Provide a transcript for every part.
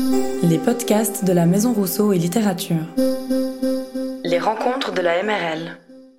Les podcasts de la Maison Rousseau et Littérature. Les rencontres de la MRL.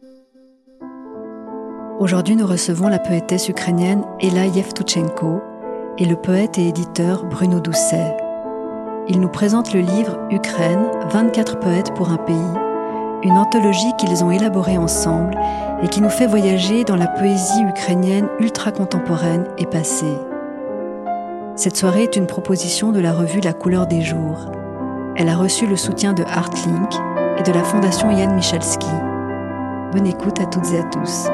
Aujourd'hui, nous recevons la poétesse ukrainienne Ella Yevtuchenko et le poète et éditeur Bruno Doucet. Ils nous présentent le livre « Ukraine, 24 poètes pour un pays », une anthologie qu'ils ont élaborée ensemble et qui nous fait voyager dans la poésie ukrainienne ultra-contemporaine et passée. Cette soirée est une proposition de la revue La Couleur des Jours. Elle a reçu le soutien de Artlink et de la Fondation Jan Michalski. Bonne écoute à toutes et à tous.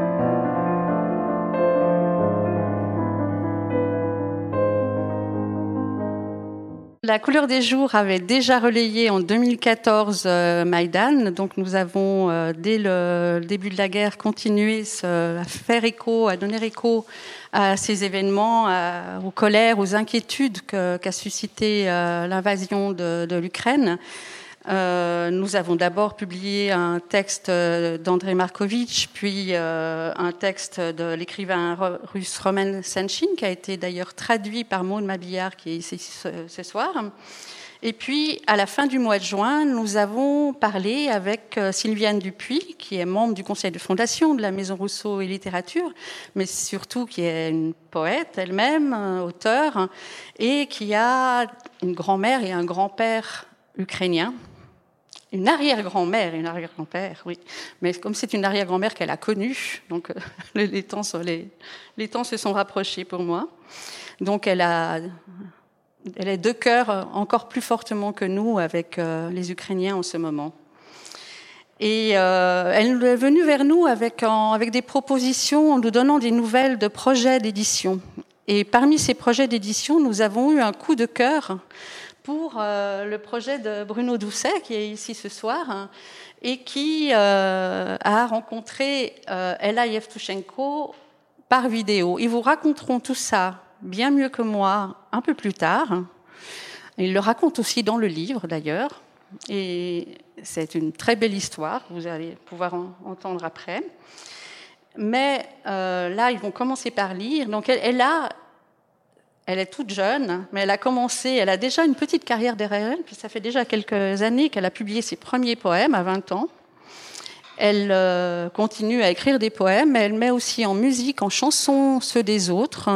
La Couleur des Jours avait déjà relayé en 2014 Maïdan, donc nous avons dès le début de la guerre continué à faire écho, à donner écho à ces événements, aux colères, aux inquiétudes qu'a suscité l'invasion de l'Ukraine. Nous avons d'abord publié un texte d'Andrei Markovitch, puis un texte de l'écrivain russe Roman Senchin, qui a été d'ailleurs traduit par Maud Mabillard, qui est ici ce soir. Et puis, à la fin du mois de juin, nous avons parlé avec Sylviane Dupuis, qui est membre du conseil de fondation de la Maison Rousseau et Littérature, mais surtout qui est une poète elle-même, auteure, et qui a une grand-mère et un grand-père ukrainien. Une arrière-grand-mère et un arrière-grand-père, oui. Mais comme c'est une arrière-grand-mère qu'elle a connue, donc les temps se sont rapprochés pour moi. Donc elle est de cœur encore plus fortement que nous avec les Ukrainiens en ce moment. Et elle est venue vers nous avec des propositions, en nous donnant des nouvelles de projets d'édition. Et parmi ces projets d'édition, nous avons eu un coup de cœur pour le projet de Bruno Doucet, qui est ici ce soir, et qui a rencontré Ella Yevtuchenko par vidéo. Ils vous raconteront tout ça bien mieux que moi un peu plus tard. Ils le racontent aussi dans le livre, d'ailleurs. Et c'est une très belle histoire que vous allez pouvoir entendre après. Mais là, ils vont commencer par lire. Donc, elle est toute jeune, mais elle a déjà une petite carrière derrière elle, puis ça fait déjà quelques années qu'elle a publié ses premiers poèmes, à 20 ans. Elle continue à écrire des poèmes, mais elle met aussi en musique, en chansons, ceux des autres,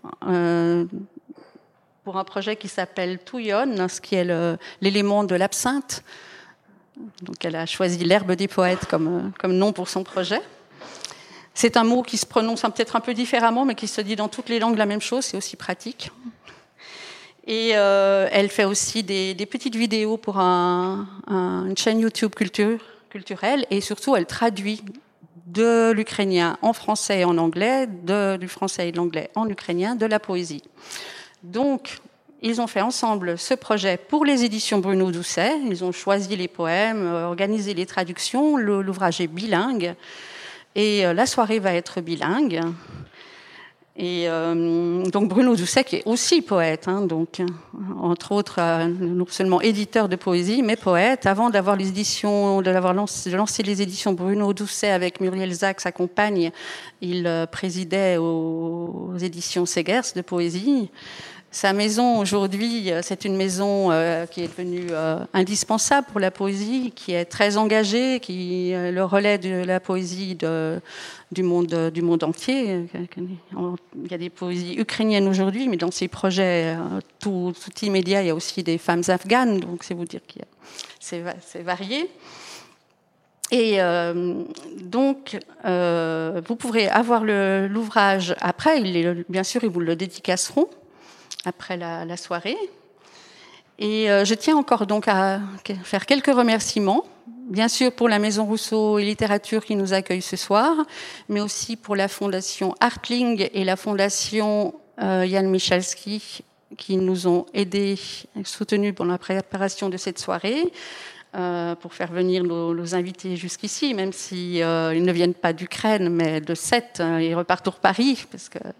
pour un projet qui s'appelle Touillon, ce qui est l'élément de l'absinthe. Donc elle a choisi l'herbe des poètes comme nom pour son projet. C'est un mot qui se prononce peut-être un peu différemment, mais qui se dit dans toutes les langues la même chose, c'est aussi pratique. Et elle fait aussi des petites vidéos pour une chaîne YouTube culturelle, et surtout elle traduit de l'ukrainien en français et en anglais, du français et de l'anglais en ukrainien, de la poésie. Donc, ils ont fait ensemble ce projet pour les éditions Bruno Doucet. Ils ont choisi les poèmes, organisé les traductions, l'ouvrage est bilingue. Et la soirée va être bilingue. Et donc Bruno Doucet, qui est aussi poète, donc, entre autres, non seulement éditeur de poésie, mais poète. Avant de lancer les éditions Bruno Doucet avec Muriel Zac, sa compagne, il présidait aux éditions Segers de poésie. Sa maison, aujourd'hui, c'est une maison qui est devenue indispensable pour la poésie, qui est très engagée, qui est le relais de la poésie du monde entier. Il y a des poésies ukrainiennes aujourd'hui, mais dans ces projets tout immédiat, il y a aussi des femmes afghanes, donc c'est vous dire que c'est varié. Et donc, vous pourrez avoir l'ouvrage après, bien sûr, ils vous le dédicaceront après la soirée. Et je tiens encore donc à faire quelques remerciements, bien sûr pour la Maison Rousseau et Littérature qui nous accueille ce soir, mais aussi pour la Fondation Artling et la Fondation Jan Michalski qui nous ont aidés, soutenus pour la préparation de cette soirée, pour faire venir nos invités jusqu'ici, même si ils ne viennent pas d'Ukraine, mais de Sète, ils repartent pour Paris, parce que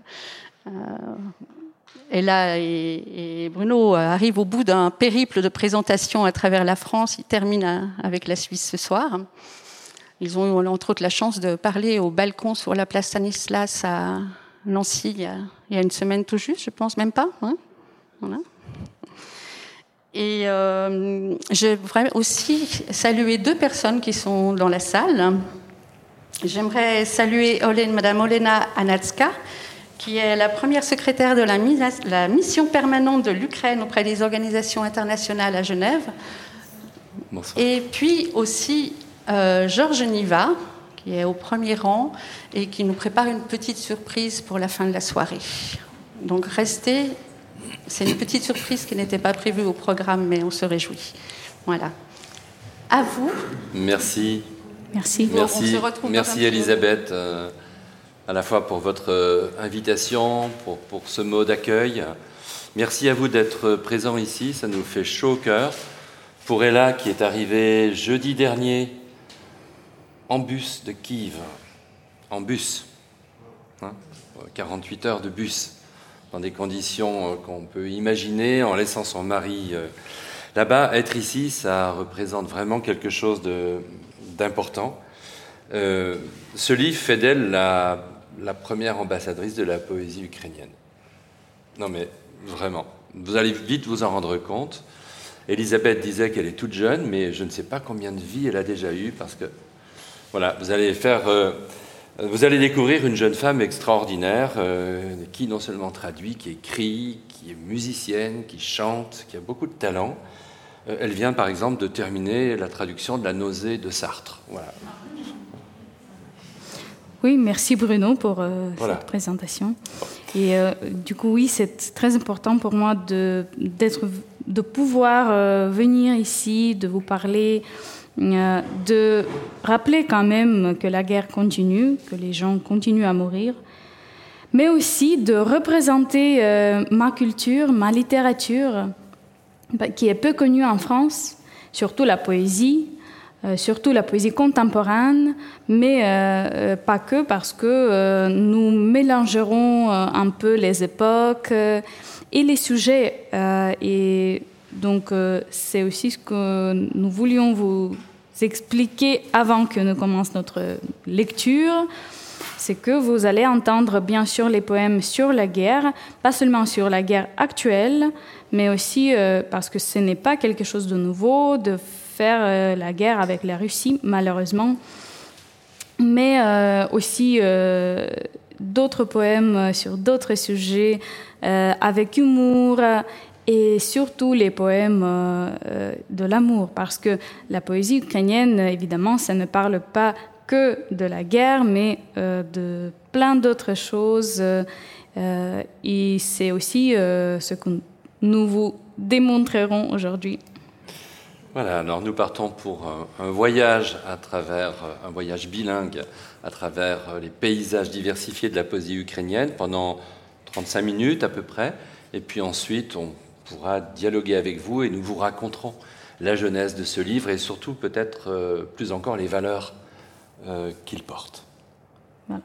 Ella et Bruno arrivent au bout d'un périple de présentation à travers la France. Ils terminent avec la Suisse ce soir. Ils ont eu, entre autres, la chance de parler au balcon sur la place Stanislas à Nancy il y a une semaine tout juste, je pense, même pas. Hein, voilà. Et je voudrais aussi saluer 2 personnes qui sont dans la salle. J'aimerais saluer Madame Olena Anatska, qui est la première secrétaire de la mission permanente de l'Ukraine auprès des organisations internationales à Genève. Bonsoir. Et puis aussi Georges Niva, qui est au premier rang et qui nous prépare une petite surprise pour la fin de la soirée. Donc restez, c'est une petite surprise qui n'était pas prévue au programme, mais on se réjouit. Voilà. À vous. Merci. Merci. Merci, on se retrouve merci Elisabeth, à la fois pour votre invitation, pour ce mot d'accueil. Merci à vous d'être présents ici, ça nous fait chaud au cœur. Pour Ella, qui est arrivée jeudi dernier en bus de Kiev, en bus, 48 heures de bus, dans des conditions qu'on peut imaginer, en laissant son mari là-bas. Être ici, ça représente vraiment quelque chose d'important. Ce livre fait d'elle la première ambassadrice de la poésie ukrainienne. Non mais vraiment, vous allez vite vous en rendre compte. Elisabeth disait qu'elle est toute jeune, mais je ne sais pas combien de vies elle a déjà eu, parce que voilà, vous allez découvrir une jeune femme extraordinaire qui non seulement traduit, qui écrit, qui est musicienne, qui chante, qui a beaucoup de talent. Elle vient par exemple de terminer la traduction de La nausée de Sartre. Voilà. Oui, merci Bruno pour cette présentation. Et du coup, oui, c'est très important pour moi de pouvoir venir ici, de vous parler, de rappeler quand même que la guerre continue, que les gens continuent à mourir, mais aussi de représenter ma culture, ma littérature, qui est peu connue en France, surtout la poésie contemporaine, mais pas que, parce que nous mélangerons un peu les époques et les sujets. Et donc, c'est aussi ce que nous voulions vous expliquer avant que nous commence notre lecture. C'est que vous allez entendre bien sûr les poèmes sur la guerre, pas seulement sur la guerre actuelle, mais aussi parce que ce n'est pas quelque chose de nouveau de faire la guerre avec la Russie, malheureusement, mais aussi d'autres poèmes sur d'autres sujets avec humour, et surtout les poèmes de l'amour, parce que la poésie ukrainienne, évidemment, ça ne parle pas que de la guerre, mais de plein d'autres choses. Et c'est aussi ce que nous vous démontrerons aujourd'hui. Voilà, alors nous partons pour un voyage un voyage bilingue à travers les paysages diversifiés de la poésie ukrainienne pendant 35 minutes à peu près. Et puis ensuite, on pourra dialoguer avec vous et nous vous raconterons la genèse de ce livre et surtout peut-être plus encore les valeurs qu'il porte. Voilà.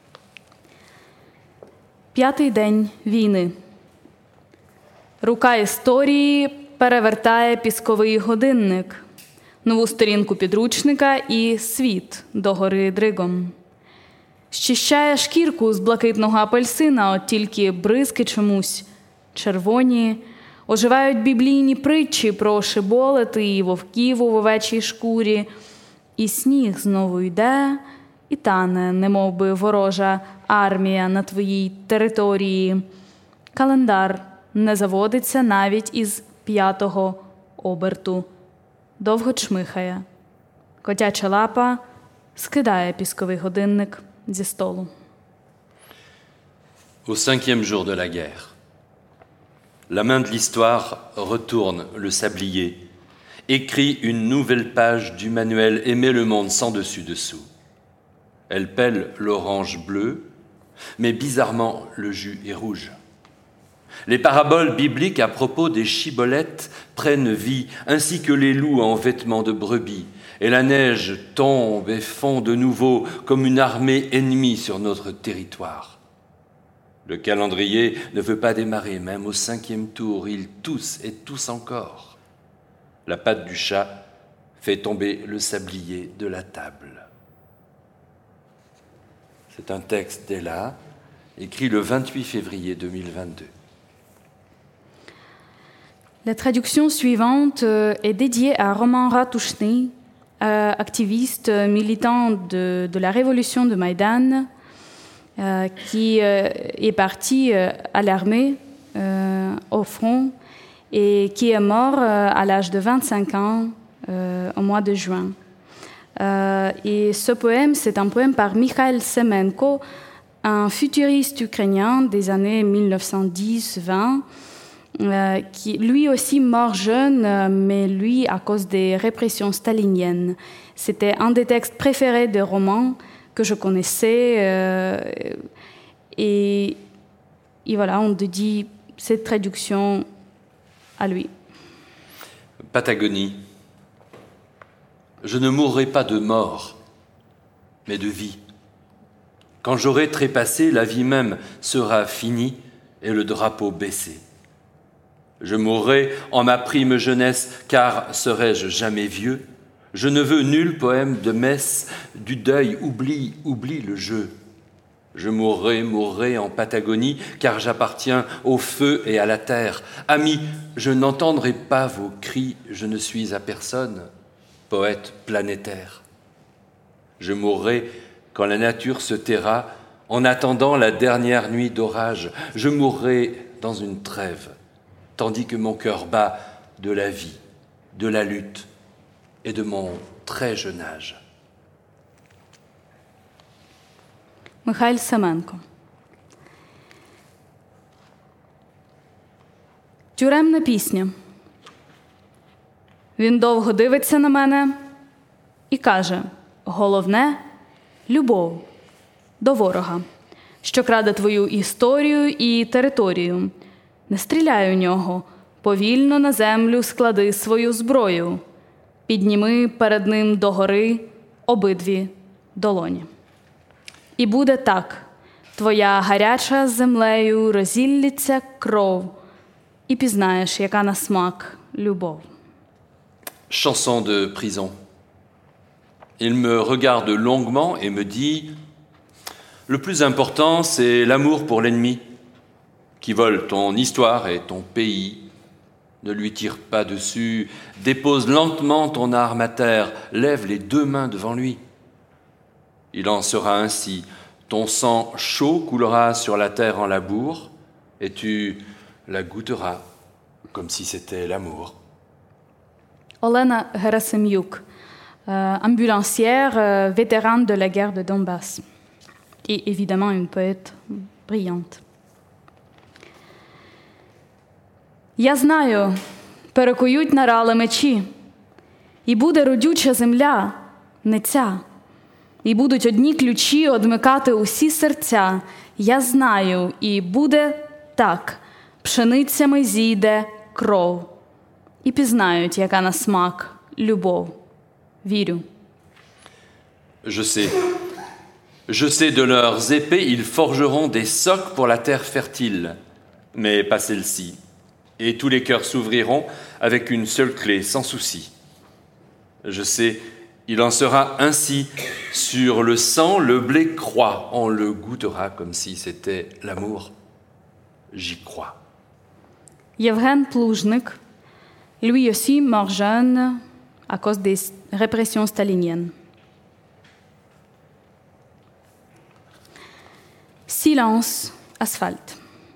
5-й день війни. Рука історії перевертає пісковий годинник, нову сторінку підручника і світ догори дригом. Щищає шкірку з блакитного апельсина, от тільки бризки чомусь червоні, оживають біблійні притчі про шиболети і вовків у вовечій шкурі, і сніг знову йде, і тане, немов би ворожа армія на твоїй території. Календар не заводиться навіть із 5-го оберту. Довго чмихає. Котяча лапа скидає пісковий годинник зі столу. Au 5e jour de la guerre, la main de l'histoire retourne le sablier, écrit une nouvelle page du manuel Aimer le monde sans dessus-dessous. Elle pèle l'orange bleu, mais bizarrement le jus est rouge. Les paraboles bibliques à propos des chibolettes prennent vie, ainsi que les loups en vêtements de brebis, et la neige tombe et fond de nouveau comme une armée ennemie sur notre territoire. Le calendrier ne veut pas démarrer, même au 5e tour, ils toussent et toussent encore. La patte du chat fait tomber le sablier de la table. C'est un texte d'Ella, écrit le 28 février 2022. La traduction suivante est dédiée à Roman Ratushny, activiste militant de la révolution de Maïdan, qui est parti à l'armée au front et qui est mort à l'âge de 25 ans au mois de juin. Et ce poème, c'est un poème par Mikhail Semenko, un futuriste ukrainien des années 1910-20, qui lui aussi mort jeune, mais lui à cause des répressions staliniennes. C'était un des textes préférés de romans que je connaissais, et voilà, on dédie cette traduction à lui. Patagonie. Je ne mourrai pas de mort, mais de vie. Quand j'aurai trépassé, la vie même sera finie et le drapeau baissé. Je mourrai en ma prime jeunesse, car serai-je jamais vieux? Je ne veux nul poème de messe, du deuil, oublie le jeu. Je mourrai en Patagonie, car j'appartiens au feu et à la terre. Amis, je n'entendrai pas vos cris, je ne suis à personne, poète planétaire. Je mourrai quand la nature se taira, en attendant la dernière nuit d'orage. Je mourrai dans une trêve, tandis que mon cœur bat de la vie, de la lutte et de mon très jeune âge. Михайль Семенко. Тюремна пісня. Він довго дивиться на мене і каже: головне – любов до ворога, що краде твою історію і територію. Не стріляй у нього, повільно на землю склади свою зброю. Підніми перед ним догори обидві долоні. І буде так, твоя гаряча з землею розіллється кров, і пізнаєш, яка на смак любов. Chanson de prison. Il me regarde longuement et me dit: le plus important, c'est l'amour pour l'ennemi, qui vole ton histoire et ton pays. Ne lui tire pas dessus, dépose lentement ton arme à terre, lève les deux mains devant lui. Il en sera ainsi, ton sang chaud coulera sur la terre en labour, et tu la goûteras comme si c'était l'amour. Олена Герасим'юк, ambulancière, vétérane de la guerre de Donbass, et évidemment une poète brillante. Я знаю, перекують нарали мечі, і буде родюча земля, не ця, і будуть одні ключі одмикати усі серця. Я знаю, і буде так, пшеницями зійде кров, і пізнають, яка на смак любов. Вірю. Je sais de leurs épées, ils forgeront des socs pour la terre fertile, mais pas celle-ci. Et tous les cœurs s'ouvriront avec une seule clé, sans souci. Je sais, il en sera ainsi. Sur le sang, le blé croît. On le goûtera comme si c'était l'amour. J'y crois. Yevgen Pluzhnik, lui aussi mort jeune à cause des répressions staliniennes. Silence, asphalte.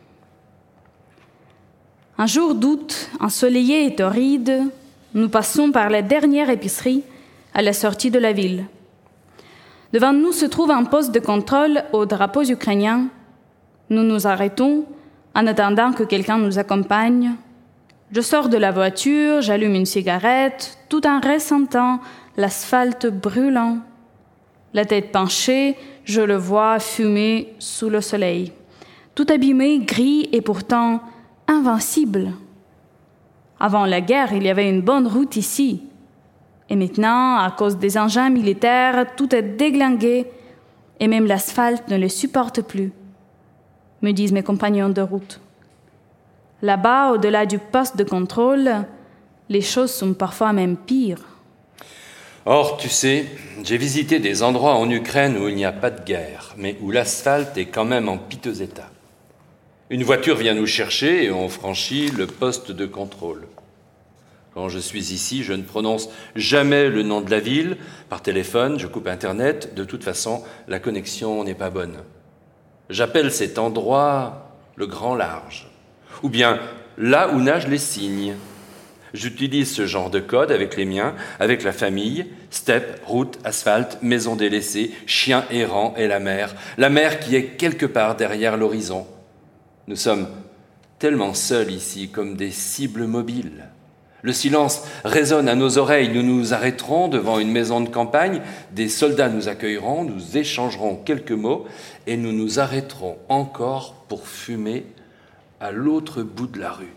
Un jour d'août, ensoleillé et torride, nous passons par la dernière épicerie à la sortie de la ville. Devant nous se trouve un poste de contrôle aux drapeaux ukrainiens. Nous nous arrêtons en attendant que quelqu'un nous accompagne. Je sors de la voiture, j'allume une cigarette, tout en ressentant l'asphalte brûlant. La tête penchée, je le vois fumer sous le soleil. Tout abîmé, gris et pourtant invincible. Avant la guerre, il y avait une bonne route ici. Et maintenant, à cause des engins militaires, tout est déglingué et même l'asphalte ne le supporte plus, me disent mes compagnons de route. Là-bas, au-delà du poste de contrôle, les choses sont parfois même pires. Or, tu sais, j'ai visité des endroits en Ukraine où il n'y a pas de guerre, mais où l'asphalte est quand même en piteux état. Une voiture vient nous chercher et on franchit le poste de contrôle. Quand je suis ici, je ne prononce jamais le nom de la ville. Par téléphone, je coupe Internet. De toute façon, la connexion n'est pas bonne. J'appelle cet endroit le Grand Large, ou bien là où nagent les cygnes. J'utilise ce genre de code avec les miens, avec la famille, steppe, route, asphalte, maison délaissée, chien errant et la mer qui est quelque part derrière l'horizon. Nous sommes tellement seuls ici, comme des cibles mobiles. Le silence résonne à nos oreilles, nous nous arrêterons devant une maison de campagne, des soldats nous accueilleront, nous échangerons quelques mots et nous nous arrêterons encore pour fumer à l'autre bout de la rue.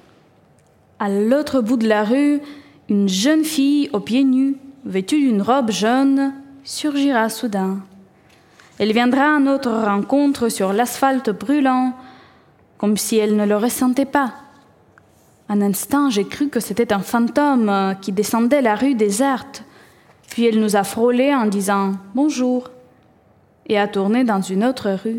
À l'autre bout de la rue, une jeune fille aux pieds nus, vêtue d'une robe jaune, surgira soudain. Elle viendra à notre rencontre sur l'asphalte brûlant, comme si elle ne le ressentait pas. Un instant, j'ai cru que c'était un fantôme qui descendait la rue déserte, puis elle nous a frôlés en disant « bonjour » et a tourné dans une autre rue.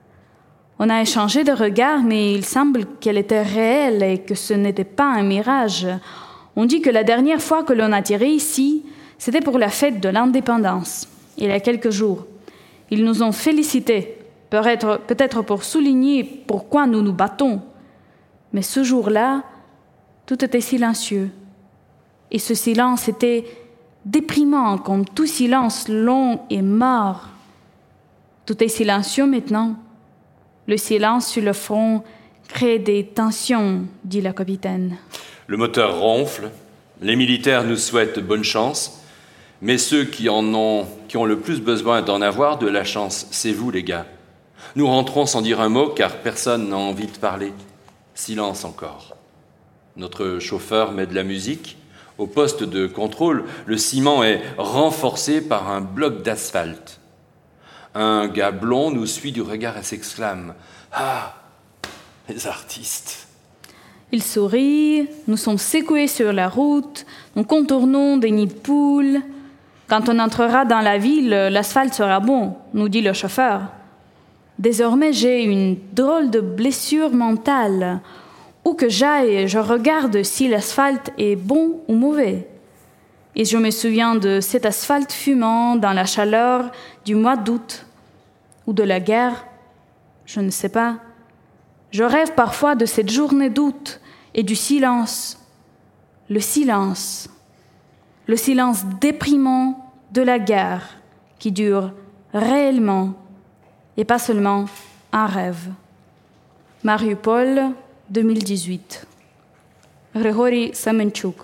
On a échangé de regards, mais il semble qu'elle était réelle et que ce n'était pas un mirage. On dit que la dernière fois que l'on a tiré ici, c'était pour la fête de l'indépendance, il y a quelques jours. Ils nous ont félicités, peut-être pour souligner pourquoi nous nous battons. Mais ce jour-là, tout était silencieux. Et ce silence était déprimant, comme tout silence long et mort. Tout est silencieux maintenant. Le silence sur le front crée des tensions, dit la capitaine. Le moteur ronfle, les militaires nous souhaitent bonne chance, mais ceux qui ont le plus besoin d'en avoir de la chance, c'est vous les gars. Nous rentrons sans dire un mot car personne n'a envie de parler. Silence encore. Notre chauffeur met de la musique. Au poste de contrôle, le ciment est renforcé par un bloc d'asphalte. Un gars blond nous suit du regard et s'exclame « Ah, les artistes !» Il sourit, nous sommes secoués sur la route, nous contournons des nids de poules. Quand on entrera dans la ville, l'asphalte sera bon, nous dit le chauffeur. Désormais, j'ai une drôle de blessure mentale. Où que j'aille, je regarde si l'asphalte est bon ou mauvais. Et je me souviens de cet asphalte fumant dans la chaleur du mois d'août, ou de la guerre, je ne sais pas. Je rêve parfois de cette journée d'août et du silence. Le silence déprimant de la guerre qui dure réellement et pas seulement un rêve. Mariupol, 2018. Grigori Semenchuk.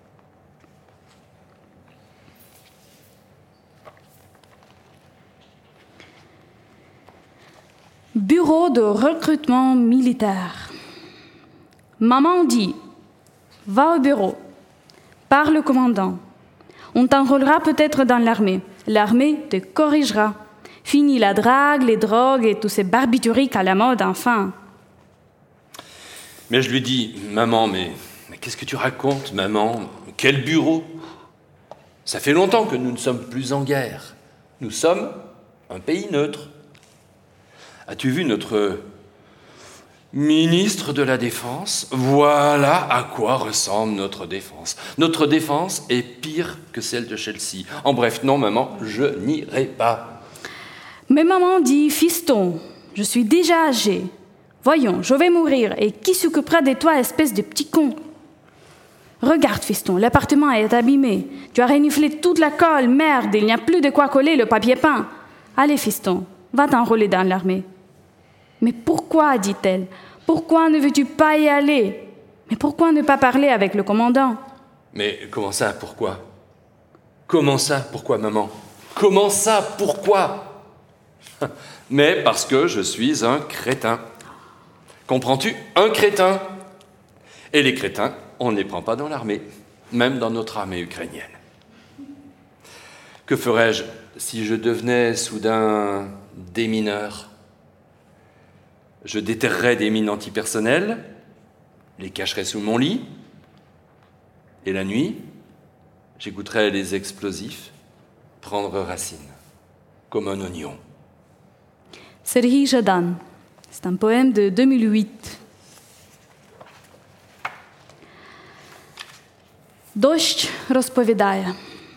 Bureau de recrutement militaire. Maman dit « Va au bureau, parle au commandant. On t'enrôlera peut-être dans l'armée. L'armée te corrigera. Fini la drague, les drogues et tous ces barbituriques à la mode, enfin. » Mais je lui dis « Maman, mais qu'est-ce que tu racontes, maman? Quel bureau? Ça fait longtemps que nous ne sommes plus en guerre. Nous sommes un pays neutre. As-tu vu notre ministre de la Défense? Voilà à quoi ressemble notre défense. Notre défense est pire que celle de Chelsea. En bref, non, maman, je n'irai pas. Mais maman dit « Fiston, je suis déjà âgée. Voyons, je vais mourir, et qui s'occupera de toi, espèce de petit con? Regarde, fiston, l'appartement est abîmé. Tu as reniflé toute la colle, merde, il n'y a plus de quoi coller le papier peint. Allez, fiston, va t'enrôler dans l'armée. » Mais pourquoi, dit-elle, pourquoi ne veux-tu pas y aller? Mais pourquoi ne pas parler avec le commandant? Mais comment ça, pourquoi? Comment ça, pourquoi, maman? Comment ça, pourquoi? Mais parce que je suis un crétin. Comprends-tu? Un crétin. Et les crétins, on ne les prend pas dans l'armée, même dans notre armée ukrainienne. Que ferais-je si je devenais soudain démineur? Je déterrerais des mines antipersonnelles, les cacherais sous mon lit, et la nuit, j'écouterais les explosifs prendre racine, comme un oignon. Serhii Jadan, c'est un poème de 2008. Дощ розповідає.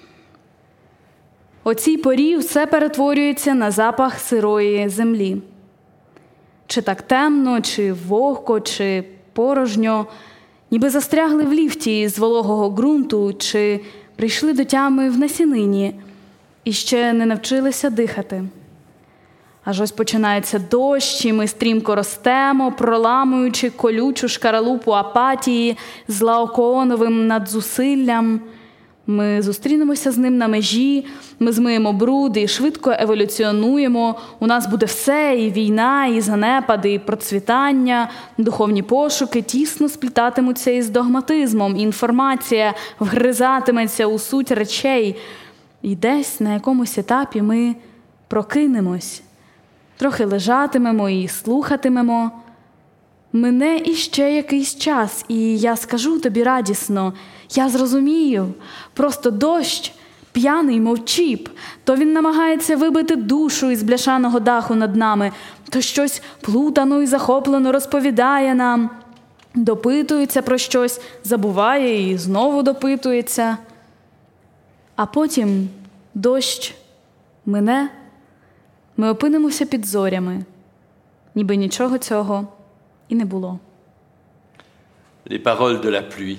О цій порі все перетворюється на запах сирої землі. Чи так темно, чи вогко, чи порожньо, ніби застрягли в ліфті з вологого ґрунту, чи прийшли до тями в насінині і ще не навчилися дихати. Аж ось починається дощ, і ми стрімко ростемо, проламуючи колючу шкаралупу апатії з лаокооновим надзусиллям. Ми зустрінемося з ним на межі, ми змиємо бруд і швидко еволюціонуємо. У нас буде все, і війна, і занепади, і процвітання, духовні пошуки тісно сплітатимуться із догматизмом, інформація вгризатиметься у суть речей. І десь на якомусь етапі ми прокинемось, трохи лежатимемо і слухатимемо. Мине іще якийсь час, і я скажу тобі радісно, я зрозумію, просто дощ, п'яний, мов чіп, то він намагається вибити душу із бляшаного даху над нами, то щось плутано і захоплено розповідає нам, допитується про щось, забуває і знову допитується. А потім дощ мине, ми опинимося під зорями, ніби нічого цього і не було. Les paroles de la pluie.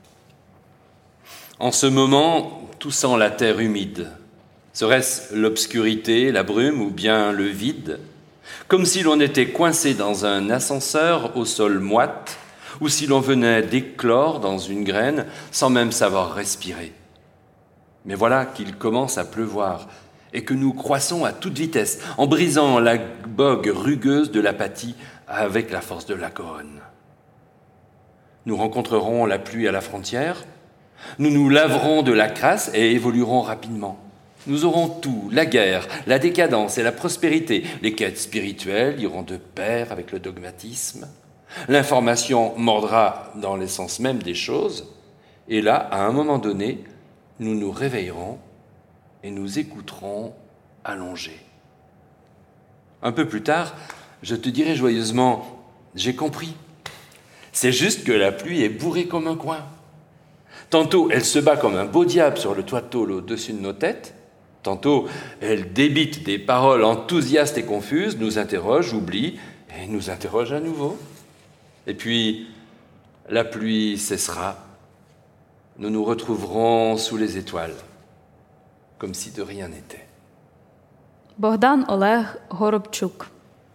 En ce moment, tout sent la terre humide. Serait-ce l'obscurité, la brume ou bien le vide? Comme si l'on était coincé dans un ascenseur au sol moite, ou si l'on venait d'éclore dans une graine sans même savoir respirer. Mais voilà qu'il commence à pleuvoir et que nous croissons à toute vitesse, en brisant la bogue rugueuse de l'apathie avec la force de la Garonne. Nous rencontrerons la pluie à la frontière, nous nous laverons de la crasse et évoluerons rapidement. Nous aurons tout, la guerre, la décadence et la prospérité. Les quêtes spirituelles iront de pair avec le dogmatisme. L'information mordra dans l'essence même des choses. Et là, à un moment donné, nous nous réveillerons et nous écouterons allongés. Un peu plus tard, je te dirai joyeusement, j'ai compris. C'est juste que la pluie est bourrée comme un coin. Tantôt, elle se bat comme un beau diable sur le toit de tôle au-dessus de nos têtes. Tantôt, elle débite des paroles enthousiastes et confuses, nous interroge, oublie, et nous interroge à nouveau. Et puis, la pluie cessera. Nous nous retrouverons sous les étoiles, comme si de rien n'était. Богдан Олег Горобчук.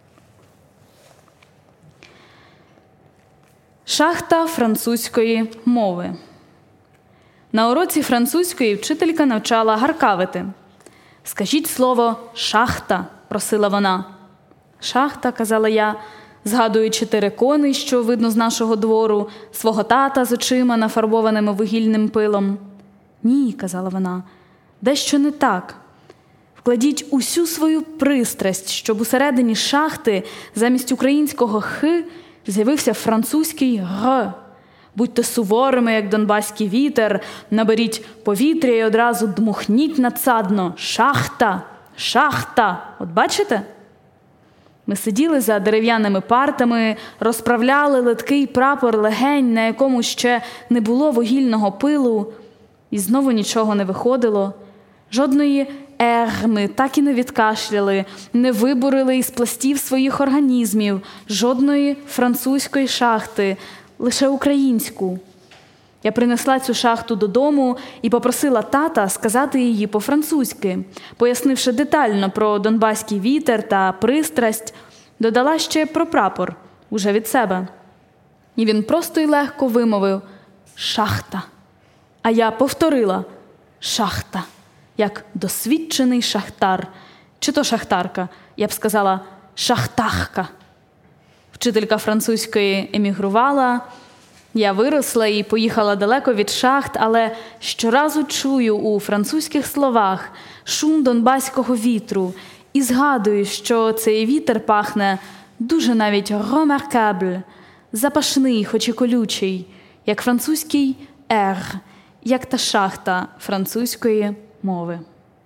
Шахта французької мови. На уроці французької вчителька навчала гаркавити. «Скажіть слово «шахта», – просила вона. «Шахта», – казала я, згадуючи терикони, що видно з нашого двору, свого тата з очима, нафарбованими вугільним пилом. «Ні», – казала вона, – «дещо не так. Вкладіть усю свою пристрасть, щоб усередині шахти замість українського «х» з'явився французький «г». Будьте суворими, як донбаський вітер, наберіть повітря і одразу дмухніть надсадно. Шахта! Шахта! От бачите? Ми сиділи за дерев'яними партами, розправляли литкий прапор легень, на якому ще не було вугільного пилу, і знову нічого не виходило. Жодної ми так і не відкашляли, не вибурили із пластів своїх організмів, жодної французької шахти, лише українську. Я принесла цю шахту додому і попросила тата сказати її по-французьки. Пояснивши детально про донбаський вітер та пристрасть, додала ще про прапор, уже від себе. І він просто й легко вимовив «шахта». А я повторила «шахта», як досвідчений шахтар. Чи то шахтарка, я б сказала «шахтахка». Вчителька французької емігрувала, я виросла і поїхала далеко від шахт, але щоразу чую у французьких словах шум донбаського вітру і згадую, що цей вітер пахне дуже навіть remarquable, запашний, хоч і колючий, як французький «р», як та шахта французької мови.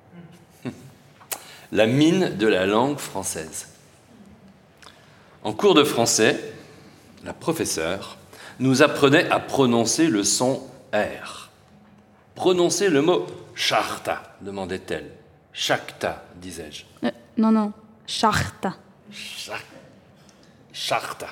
La mine de la langue française. En cours de français, la professeure nous apprenait à prononcer le son R. Prononcez le mot charta, demandait-elle. Chakta, disais-je. Non, charta. Charta.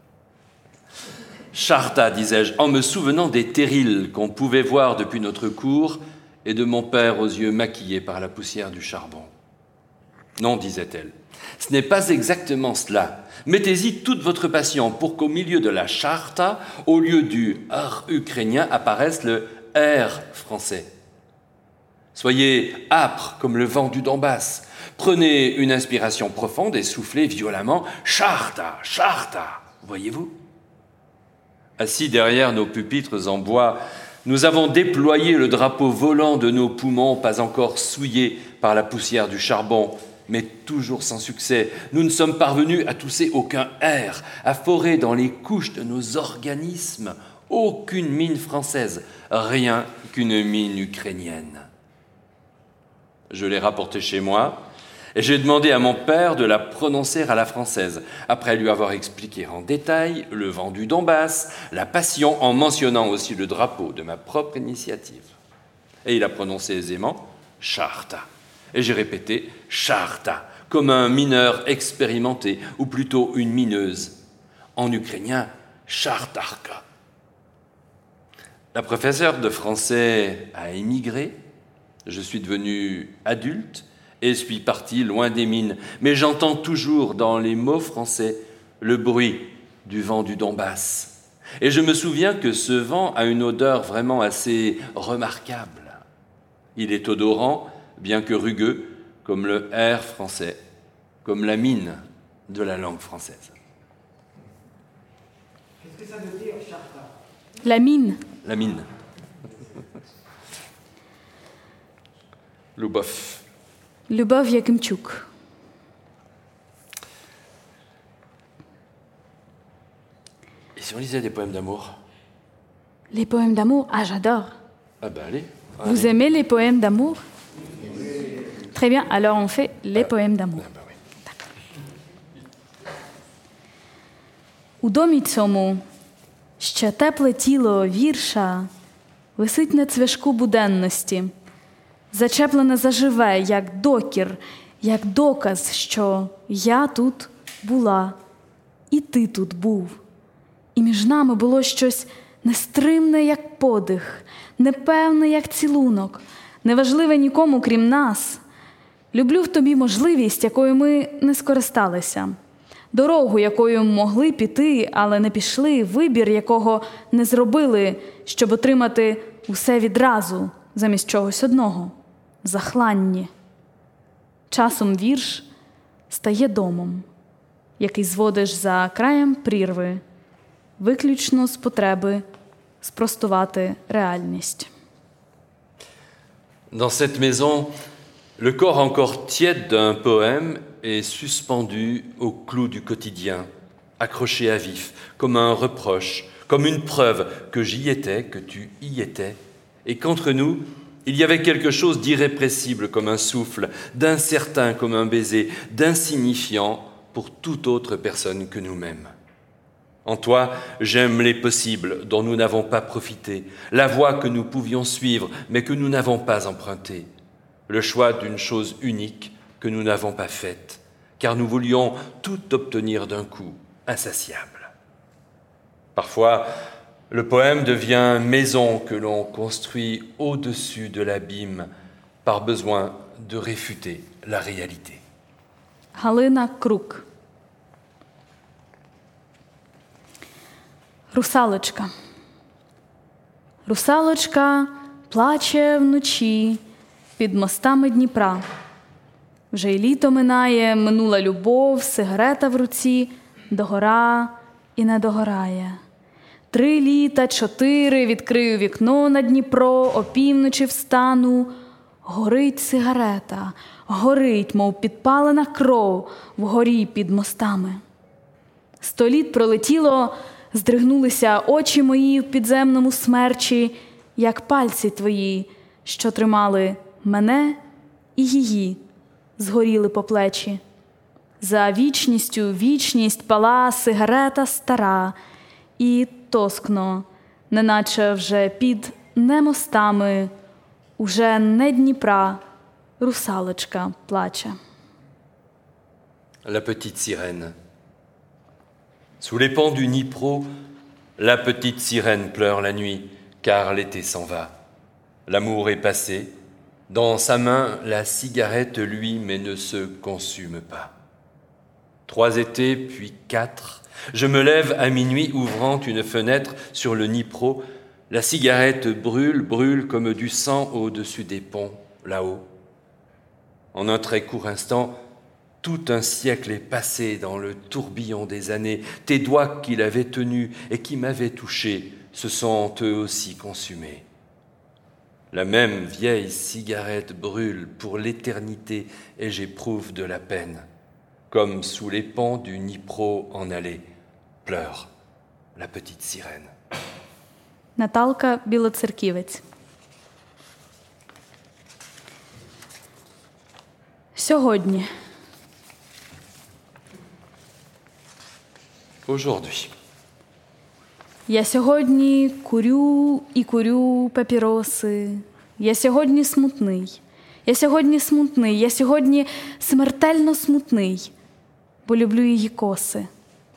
Charta, disais-je, en me souvenant des terrils qu'on pouvait voir depuis notre cour et de mon père aux yeux maquillés par la poussière du charbon. Non, disait-elle, ce n'est pas exactement cela. Mettez-y toute votre passion pour qu'au milieu de la charta, au lieu du « r » ukrainien, apparaisse le « r » français. Soyez âpre comme le vent du Donbass. Prenez une inspiration profonde et soufflez violemment « charta, charta », voyez-vous ? Assis derrière nos pupitres en bois, nous avons déployé le drapeau volant de nos poumons, pas encore souillés par la poussière du charbon, mais toujours sans succès. Nous ne sommes parvenus à tousser aucun air, à forer dans les couches de nos organismes aucune mine française, rien qu'une mine ukrainienne. Je l'ai rapportée chez moi et j'ai demandé à mon père de la prononcer à la française, après lui avoir expliqué en détail le vent du Donbass, la passion, en mentionnant aussi le drapeau de ma propre initiative. Et il a prononcé aisément « charta ». Et j'ai répété « charta », comme un mineur expérimenté, ou plutôt une mineuse. En ukrainien, « chartarka ». La professeure de français a émigré, je suis devenu adulte et suis parti loin des mines. Mais j'entends toujours dans les mots français le bruit du vent du Donbass. Et je me souviens que ce vent a une odeur vraiment assez remarquable. Il est odorant, bien que rugueux, comme le R français, comme la mine de la langue française. Qu'est-ce que ça veut dire, charta ? La mine. La mine. Любовь. Любов Якимчук. Et si on lisait des poèmes d'amour ? Les poèmes d'amour, ah j'adore. Ah ben allez. Vous aimez les poèmes d'amour ? Très bien, alors on fait les poèmes d'amour. Ah ben oui. У домі цьому ще тепле тіло вірша висить на цвяшку буденності, зачеплене заживе, як докір, як доказ, що я тут була, і ти тут був. І між нами було щось нестримне, як подих, непевне, як цілунок, неважливе нікому, крім нас. Люблю в тобі можливість, якою ми не скористалися. Дорогу, якою могли піти, але не пішли, вибір, якого не зробили, щоб отримати усе відразу, замість чогось одного – захланні. Часом вірш стає домом, який зводиш за краєм прірви, виключно з потреби спростувати реальність. Dans cette maison, le corps encore tiède d'un poème est suspendu au clou du quotidien, accroché à vif, comme un reproche, comme une preuve que j'y étais, que tu y étais, et qu'entre nous, il y avait quelque chose d'irrépressible comme un souffle, d'incertain comme un baiser, d'insignifiant pour toute autre personne que nous-mêmes. En toi, j'aime les possibles dont nous n'avons pas profité, la voie que nous pouvions suivre mais que nous n'avons pas empruntée, le choix d'une chose unique que nous n'avons pas faite, car nous voulions tout obtenir d'un coup, insatiable. Parfois, le poème devient maison que l'on construit au-dessus de l'abîme par besoin de réfuter la réalité. Галина Крук. Русалочка. Русалочка плаче вночі під мостами Дніпра. Вже й літо минає, минула любов, сигарета в руці, догора і не догорає. 3 літа, 4, відкрию вікно на Дніпро, опівночі встану. Горить сигарета, горить, мов підпалена кров вгорі під мостами. 100 літ пролетіло, здригнулися очі мої в підземному смерчі, як пальці твої, що тримали мене і її, згоріли по плечі. За вічністю вічність пала сигарета стара, і тоскно, неначе вже під не мостами, уже не Дніпра, русалочка плаче. La petite sirène. Sous les pans du Dnipro, la petite sirène pleure la nuit, car l'été s'en va. L'amour est passé. Dans sa main, la cigarette luit, mais ne se consume pas. 3 étés, puis 4. Je me lève à minuit, ouvrant une fenêtre sur le Dnipro. La cigarette brûle, brûle comme du sang au-dessus des ponts, là-haut. En un très court instant, tout un siècle est passé dans le tourbillon des années. Tes doigts qu'il avait tenus et qui m'avaient touché se sont eux aussi consumés. La même vieille cigarette brûle pour l'éternité et j'éprouve de la peine. Comme sous les pans du Dnipro en allée, pleure la petite sirène. Наталка Білоцерківець. Сьогодні. Aujourd'hui. Я сьогодні курю папіроси. Я сьогодні смутний. Я сьогодні смутний. Я сьогодні смертельно смутний, бо люблю її коси.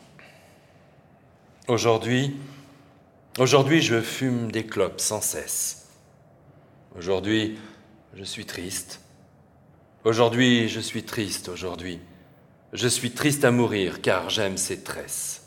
Aujourd'hui, je fume des clopes sans cesse. Aujourd'hui, je suis triste. Aujourd'hui, je suis triste aujourd'hui. Je suis triste à mourir, car j'aime ses tresses.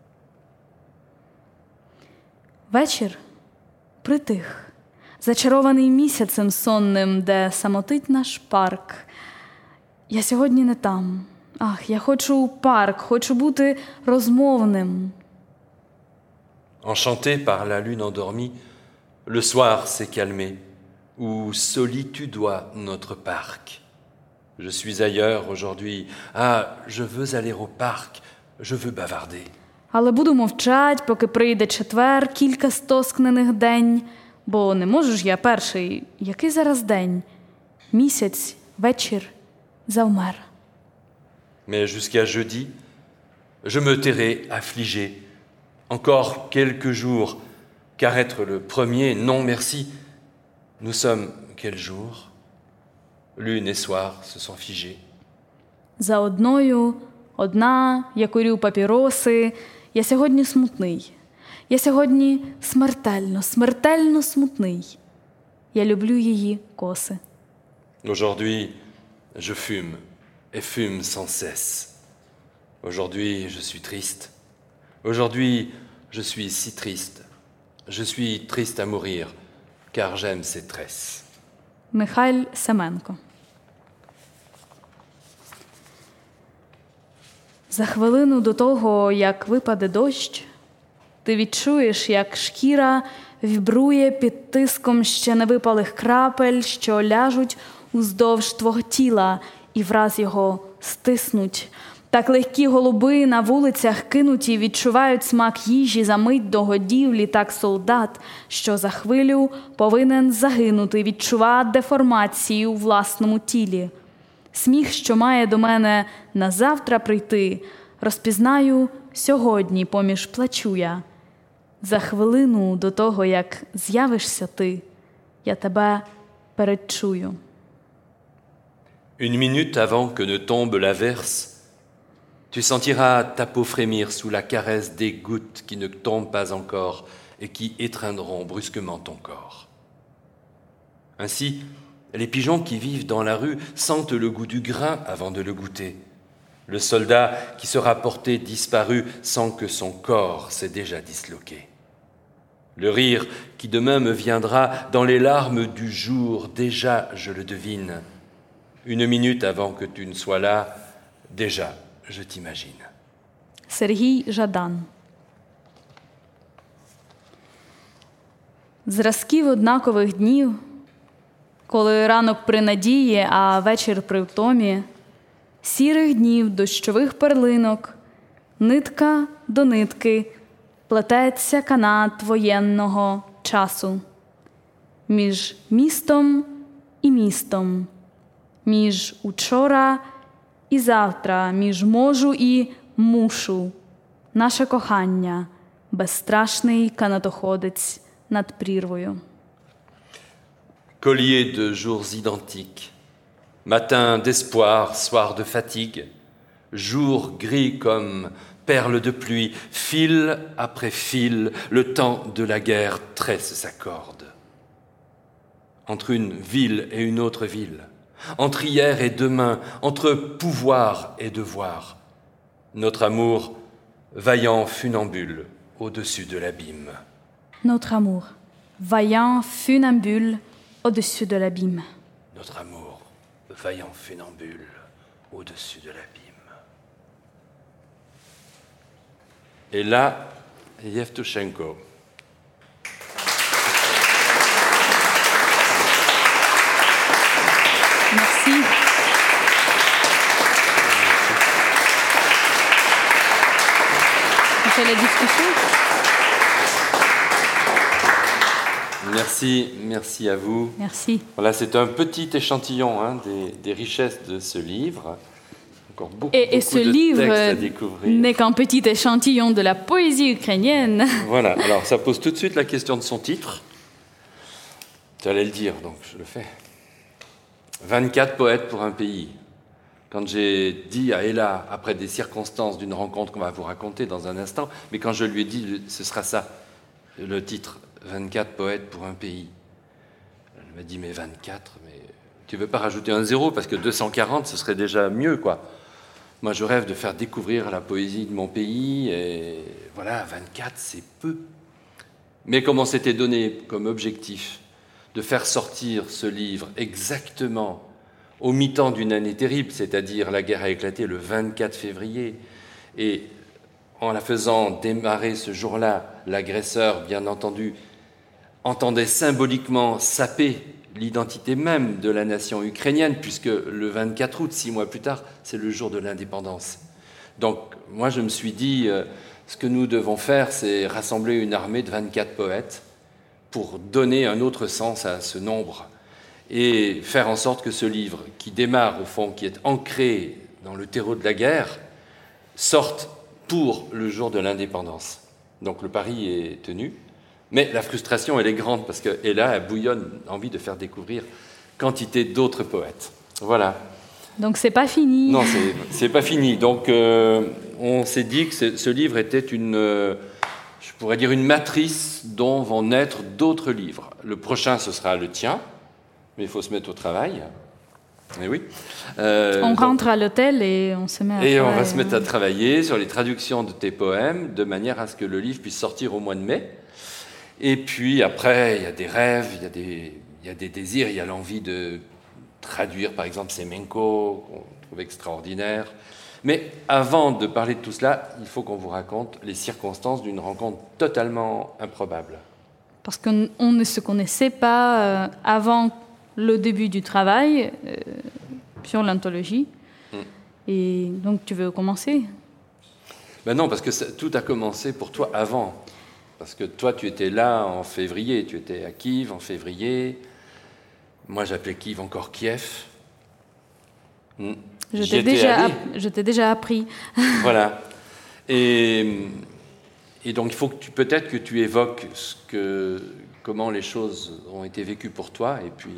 Вечір притих, зачарований місяцем сонним, де самотить наш парк. Я сьогодні не там. Ах, я хочу парк, хочу бути розмовним. Enchanté par la lune endormie, le soir s'est calmé, où solitudoit notre parc. Je suis ailleurs aujourd'hui. Ah, je veux aller au parc, je veux bavarder. Але буду мовчать, поки прийде четвер, кілька стоскнених день, бо не можу ж я перший. Який зараз день? Місяць, вечір, завмер. Mais jusqu'à jeudi, je me tairai affligé. Encore quelques jours, car être le premier, non merci. Nous sommes quel jour? Lune et soir se sont figés. За одна, я курю папіроси. Я сьогодні смутний. Я сьогодні смертельно смутний. Я люблю її коси. Aujourd'hui, je fume et fume sans cesse. Aujourd'hui, je suis triste. Aujourd'hui, je suis si triste. Je suis triste à mourir, car j'aime ses tresses. Михайль Семенко. За хвилину до того, як випаде дощ, ти відчуєш, як шкіра вібрує під тиском ще невипалих крапель, що ляжуть уздовж твого тіла і враз його стиснуть. Так легкі голуби на вулицях кинуті відчувають смак їжі за мить до годівлі, так солдат, що за хвилю повинен загинути, відчува деформації у власному тілі. Сміх, що має до мене назавтра прийти, розпізнаю сьогодні поміж плачу я. За хвилину до того, як з'явишся ти, я тебе передчую. Une minute avant que ne tombe l'averse, tu sentiras ta peau frémir sous la caresse des gouttes qui ne tombent pas encore et qui étreindront brusquement ton corps. Ainsi, les pigeons qui vivent dans la rue sentent le goût du grain avant de le goûter. Le soldat qui sera porté disparu sent que son corps s'est déjà disloqué. Le rire qui demain me viendra dans les larmes du jour, déjà je le devine. Une minute avant que tu ne sois là, déjà je t'imagine. Сергій Жадан. Зразків однакових днів, коли ранок при надії, а вечір при втомі, сірих днів, дощових перлинок, нитка до нитки, плететься канат воєнного часу. Між містом і містом, між учора і завтра, між можу і мушу. Наше кохання, безстрашний канатоходець над прірвою. collier de jours identiques, matin d'espoir, soir de fatigue, jour gris comme perles de pluie, fil après fil, le temps de la guerre tresse sa corde. Entre une ville et une autre ville, entre hier et demain, entre pouvoir et devoir, notre amour vaillant funambule au-dessus de l'abîme. Notre amour, vaillant funambule au-dessus de l'abîme. Notre amour, vaillant funambule au-dessus de l'abîme. Et là, Yevtushenko. Merci. On fait la discussion. Merci à vous. Merci. Voilà, c'est un petit échantillon des richesses de ce livre. Encore beaucoup Et ce de livre textes à découvrir. n'est qu'un petit échantillon de la poésie ukrainienne. Voilà, alors ça pose tout de suite la question de son titre. Tu allais le dire, donc je le fais. 24 poètes pour un pays. Quand j'ai dit à Ella, après des circonstances d'une rencontre qu'on va vous raconter dans un instant, mais quand je lui ai dit, ce sera ça, le titre, 24 poètes pour un pays. Elle m'a dit, mais 24, mais tu veux pas rajouter un zéro, parce que 240, ce serait déjà mieux, quoi. Moi, je rêve de faire découvrir la poésie de mon pays, et voilà, 24, c'est peu. Mais comme on s'était donné comme objectif de faire sortir ce livre exactement au mi-temps d'une année terrible, c'est-à-dire la guerre a éclaté le 24 février, et en la faisant démarrer ce jour-là, l'agresseur, bien entendu, entendait symboliquement saper l'identité même de la nation ukrainienne, puisque le 24 août, 6 mois plus tard, c'est le jour de l'indépendance. Donc, moi, je me suis dit, ce que nous devons faire, c'est rassembler une armée de 24 poètes pour donner un autre sens à ce nombre et faire en sorte que ce livre, qui démarre au fond, qui est ancré dans le terreau de la guerre, sorte pour le jour de l'indépendance. Donc le pari est tenu, mais la frustration, elle est grande, parce qu'elle a, elle bouillonne, envie de faire découvrir quantité d'autres poètes. Voilà. Donc c'est pas fini. Non, c'est pas fini. Donc on s'est dit que ce livre était je pourrais dire une matrice dont vont naître d'autres livres. Le prochain, ce sera le tien, mais il faut se mettre au travail. Mais oui. On rentre à l'hôtel et on se met à travailler. Et on va se mettre à travailler sur les traductions de tes poèmes, de manière à ce que le livre puisse sortir au mois de mai. Et puis après, il y a des rêves, il y a des désirs, il y a l'envie de traduire, par exemple, Semenko, qu'on trouve extraordinaire. Mais avant de parler de tout cela, il faut qu'on vous raconte les circonstances d'une rencontre totalement improbable. Parce qu'on ne se connaissait pas avant le début du travail sur l'anthologie. Et donc, tu veux commencer ? Ben non, parce que tout a commencé pour toi avant. Parce que toi, tu étais là en février, tu étais à Kiev en février. Moi, j'appelais Kiev encore Kiev. Je t'ai déjà appris. Voilà. Et donc, il faut que peut-être que tu évoques comment les choses ont été vécues pour toi, et puis...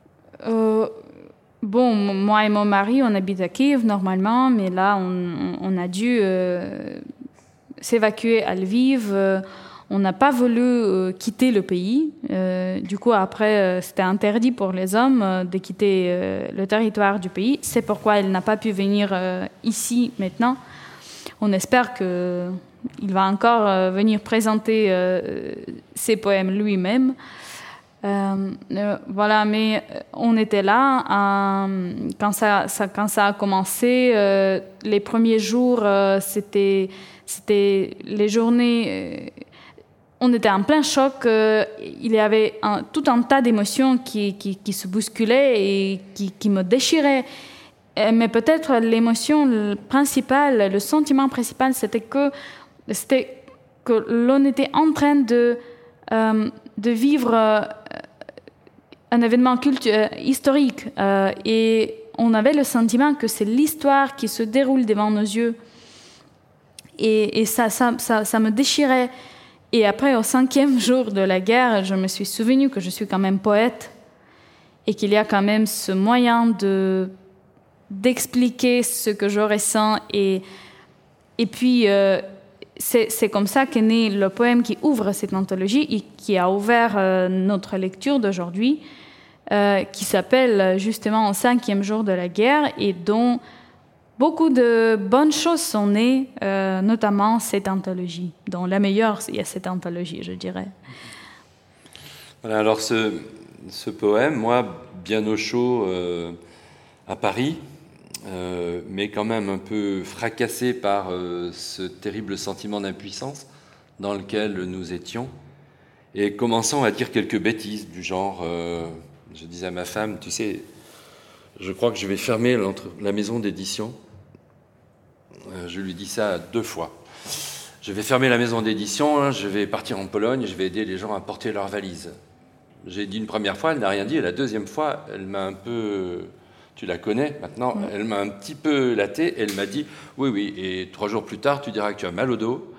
Bon, moi et mon mari, on habite à Kiev normalement, mais là, on a dû s'évacuer à Lviv. On n'a pas voulu quitter le pays. Du coup, après, c'était interdit pour les hommes de quitter le territoire du pays. C'est pourquoi elle n'a pas pu venir ici maintenant. On espère qu'il va encore venir présenter ses poèmes lui-même. Voilà, mais on était là quand ça a commencé. Les premiers jours, c'était les journées. On était en plein choc. Il y avait tout un tas d'émotions qui se bousculaient et qui me déchiraient. Mais peut-être l'émotion principale, le sentiment principal, c'était que l'on était en train de vivre un événement historique. Et on avait le sentiment que c'est l'histoire qui se déroule devant nos yeux. Et ça me déchirait. Et après, au 5e jour de la guerre, je me suis souvenu que je suis quand même poète. et qu'il y a quand même ce moyen d'expliquer ce que je ressens. Et puis, c'est comme ça qu'est né le poème qui ouvre cette anthologie et qui a ouvert notre lecture d'aujourd'hui, qui s'appelle justement « Au 5e jour de la guerre » et dont beaucoup de bonnes choses sont nées, notamment cette anthologie. Dont la meilleure, il y a cette anthologie, je dirais. Voilà, alors ce poème, moi, bien au chaud à Paris, mais quand même un peu fracassé par ce terrible sentiment d'impuissance dans lequel nous étions, et commençant à dire quelques bêtises du genre, je disais à ma femme, tu sais, je crois que je vais fermer la maison d'édition. Je lui dis ça 2 fois. Je vais fermer la maison d'édition, je vais partir en Pologne, je vais aider les gens à porter leurs valises. J'ai dit une première fois, elle n'a rien dit, et la deuxième fois, elle m'a un peu... Tu la connais maintenant, elle m'a un petit peu laté, elle m'a dit oui, et 3 jours plus tard, tu diras que tu as mal au dos,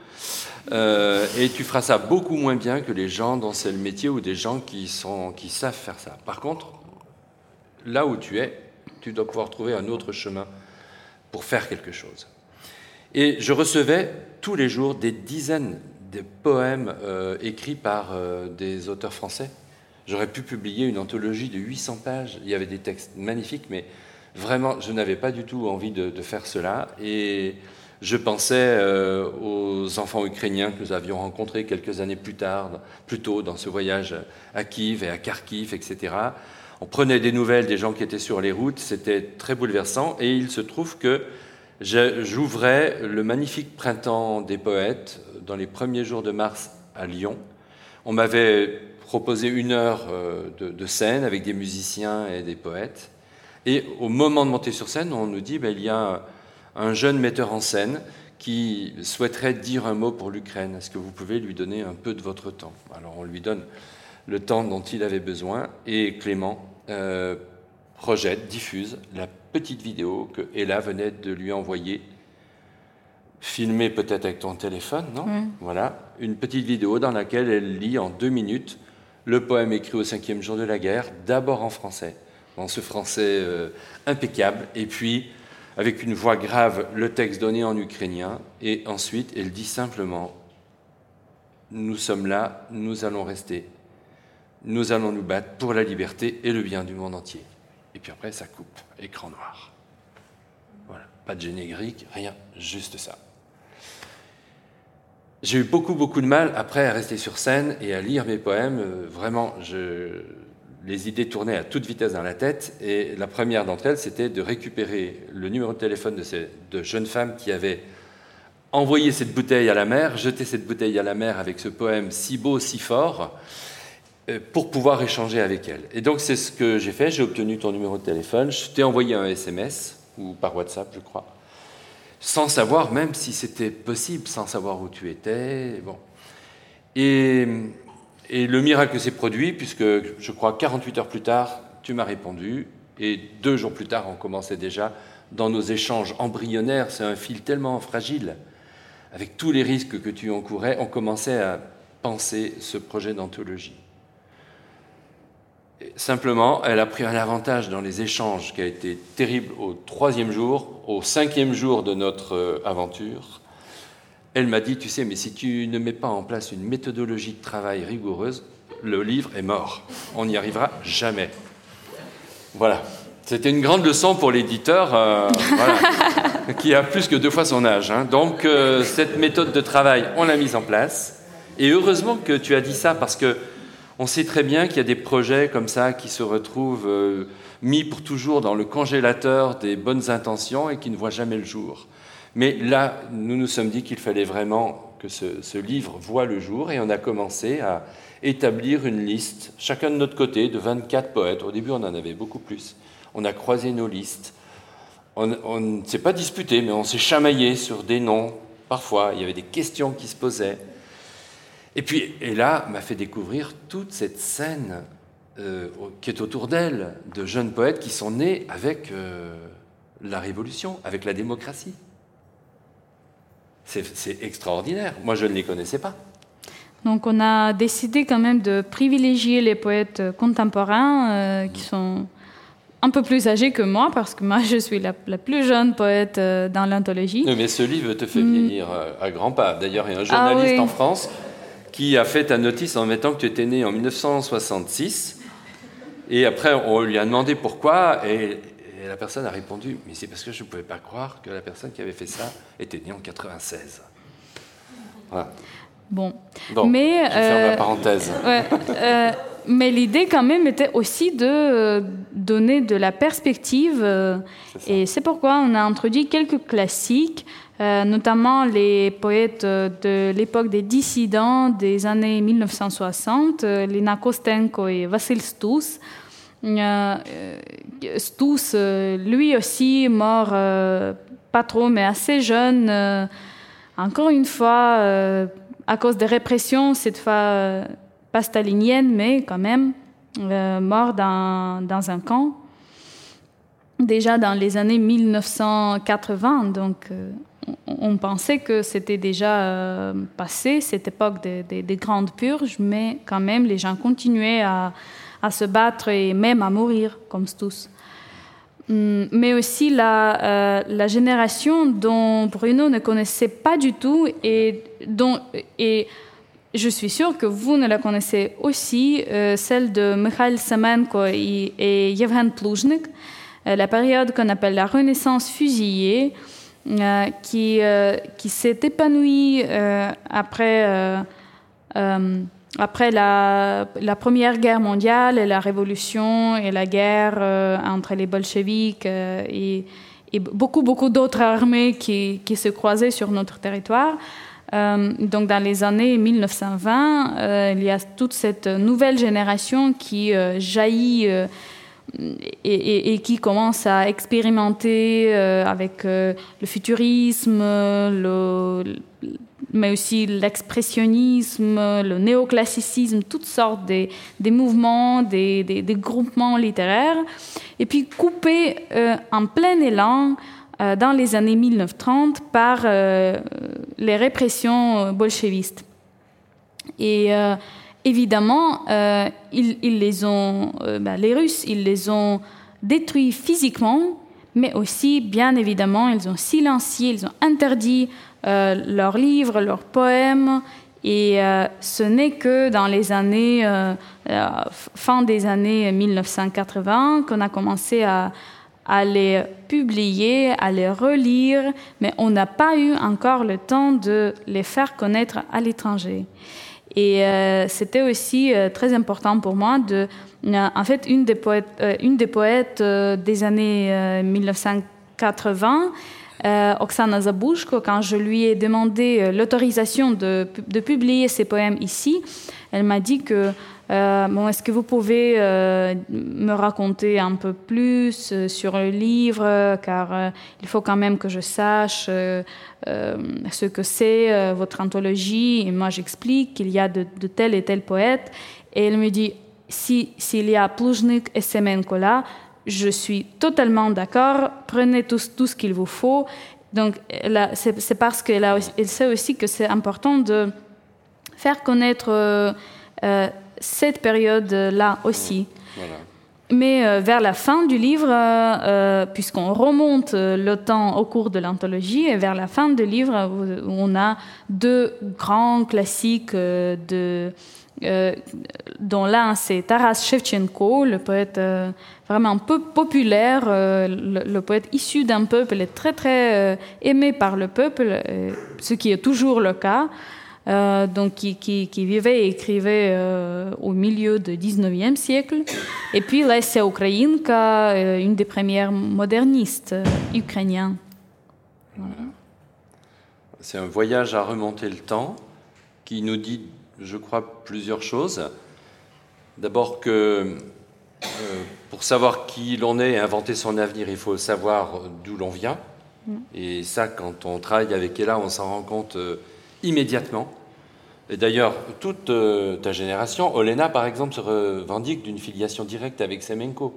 et tu feras ça beaucoup moins bien que les gens dont c'est le métier ou des gens qui savent faire ça. Par contre, là où tu es, tu dois pouvoir trouver un autre chemin pour faire quelque chose. Et je recevais tous les jours des dizaines de poèmes écrits par des auteurs français. J'aurais pu publier une anthologie de 800 pages. Il y avait des textes magnifiques, mais vraiment, je n'avais pas du tout envie de faire cela. Et je pensais aux enfants ukrainiens que nous avions rencontrés quelques années plus tôt, dans ce voyage à Kiev et à Kharkiv, etc. On prenait des nouvelles des gens qui étaient sur les routes. C'était très bouleversant. Et il se trouve que j'ouvrais le magnifique printemps des poètes dans les premiers jours de mars à Lyon. On m'avait proposé 1 heure de scène avec des musiciens et des poètes. Et au moment de monter sur scène, on nous dit il y a un jeune metteur en scène qui souhaiterait dire un mot pour l'Ukraine. Est-ce que vous pouvez lui donner un peu de votre temps ? Alors on lui donne le temps dont il avait besoin et Clément projette, diffuse la petite vidéo que Ella venait de lui envoyer, filmée peut-être avec ton téléphone, non ? Voilà, une petite vidéo dans laquelle elle lit en 2 minutes le poème écrit au 5e jour de la guerre, d'abord en français, dans ce français impeccable, et puis avec une voix grave, le texte donné en ukrainien, et ensuite elle dit simplement « Nous sommes là, nous allons rester, nous allons nous battre pour la liberté et le bien du monde entier. » Et puis après, ça coupe, écran noir. Voilà, pas de générique, rien, juste ça. J'ai eu beaucoup de mal après à rester sur scène et à lire mes poèmes. Vraiment, les idées tournaient à toute vitesse dans la tête. Et la première d'entre elles, c'était de récupérer le numéro de téléphone de ces 2 jeunes femmes qui avaient envoyé cette bouteille à la mer, jeté cette bouteille à la mer avec ce poème si beau, si fort, pour pouvoir échanger avec elles. Et donc, c'est ce que j'ai fait. J'ai obtenu ton numéro de téléphone. Je t'ai envoyé un SMS, ou par WhatsApp, je crois, sans savoir même si c'était possible, sans savoir où tu étais. Bon. Et le miracle s'est produit, puisque je crois 48 heures plus tard, tu m'as répondu, et 2 jours plus tard, on commençait déjà dans nos échanges embryonnaires, c'est un fil tellement fragile, avec tous les risques que tu encourais, on commençait à penser ce projet d'anthologie. Et simplement, elle a pris un avantage dans les échanges qui a été terrible au 3e jour, au 5e jour de notre aventure. Elle m'a dit, tu sais, mais si tu ne mets pas en place une méthodologie de travail rigoureuse, le livre est mort. On n'y arrivera jamais. Voilà. C'était une grande leçon pour l'éditeur, voilà, qui a plus que 2 fois son âge. Hein. Donc, cette méthode de travail, on l'a mise en place. Et heureusement que tu as dit ça, parce que on sait très bien qu'il y a des projets comme ça qui se retrouvent mis pour toujours dans le congélateur des bonnes intentions et qui ne voient jamais le jour. Mais là, nous nous sommes dit qu'il fallait vraiment que ce livre voie le jour, et on a commencé à établir une liste, chacun de notre côté, de 24 poètes. Au début, on en avait beaucoup plus. On a croisé nos listes. On ne s'est pas disputé, mais on s'est chamaillé sur des noms. Parfois, il y avait des questions qui se posaient. Et puis, Ella m'a fait découvrir toute cette scène qui est autour d'elle, de jeunes poètes qui sont nés avec la Révolution, avec la démocratie. C'est extraordinaire. Moi, je ne les connaissais pas. Donc on a décidé quand même de privilégier les poètes contemporains qui sont un peu plus âgés que moi, parce que moi je suis la plus jeune poète dans l'anthologie. Mais ce livre te fait vieillir à grands pas. D'ailleurs, il y a un journaliste en France qui a fait ta notice en mettant que tu étais né en 1966. Et après, on lui a demandé pourquoi, et la personne a répondu « Mais c'est parce que je ne pouvais pas croire que la personne qui avait fait ça était née en 96. » Voilà. Bon, mais je ferme la parenthèse. Mais l'idée quand même était aussi de donner de la perspective, et c'est pourquoi on a introduit quelques classiques, notamment les poètes de l'époque des dissidents des années 1960, Lina Kostenko et Vassil Stous. Stous, lui aussi, mort pas trop, mais assez jeune, encore une fois, à cause des répressions, cette fois pas stalinienne, mais quand même, mort dans un camp, déjà dans les années 1980. Donc, on pensait que c'était déjà passé, cette époque des grandes purges, mais quand même, les gens continuaient à se battre et même à mourir, comme tous. Mais aussi la génération dont Bruno ne connaissait pas du tout et je suis sûre que vous ne la connaissez aussi, celle de Mikhail Semenko et Yevhen Pluzhnik, la période qu'on appelle la Renaissance fusillée, qui s'est épanouie après la Première Guerre mondiale et la Révolution et la guerre entre les bolcheviks et beaucoup d'autres armées qui se croisaient sur notre territoire. Donc dans les années 1920, il y a toute cette nouvelle génération qui jaillit et qui commence à expérimenter avec le futurisme, mais aussi l'expressionnisme, le néoclassicisme, toutes sortes des mouvements, des groupements littéraires, et puis coupés en plein élan dans les années 1930 par les répressions bolchevistes. Et évidemment, les Russes, ils les ont détruits physiquement, mais aussi, bien évidemment, ils ont silencié, ils ont interdit leurs livres, leurs poèmes, et ce n'est que dans les années, fin des années 1980, qu'on a commencé à les publier, à les relire, mais on n'a pas eu encore le temps de les faire connaître à l'étranger. Et c'était aussi très important pour moi en fait, une des poètes des années 1980, Oksana Zabushko, quand je lui ai demandé l'autorisation de publier ses poèmes ici, elle m'a dit que est-ce que vous pouvez me raconter un peu plus sur le livre, car il faut quand même que je sache ce que c'est votre anthologie. Et moi, j'explique qu'il y a de tel et tel poète. Et elle me dit, s'il y a Pluzhnik et Semenko là, je suis totalement d'accord, prenez tout ce qu'il vous faut. Donc, c'est parce qu'elle sait aussi que c'est important de faire connaître cette période-là aussi. Voilà. Mais vers la fin du livre, puisqu'on remonte le temps au cours de l'anthologie, et vers la fin du livre, on a deux grands classiques dont l'un, c'est Taras Shevchenko, le poète vraiment un peu populaire, le poète issu d'un peuple et très, très aimé par le peuple, ce qui est toujours le cas. Donc qui vivait et écrivait au milieu du 19e siècle. Et puis Lesya Ukrainka, une des premières modernistes ukrainiennes. Voilà. C'est un voyage à remonter le temps qui nous dit, je crois, plusieurs choses. D'abord que pour savoir qui l'on est et inventer son avenir, il faut savoir d'où l'on vient. Et ça, quand on travaille avec Ella, on s'en rend compte immédiatement. Et d'ailleurs, toute ta génération, Olena par exemple, se revendique d'une filiation directe avec Semenko.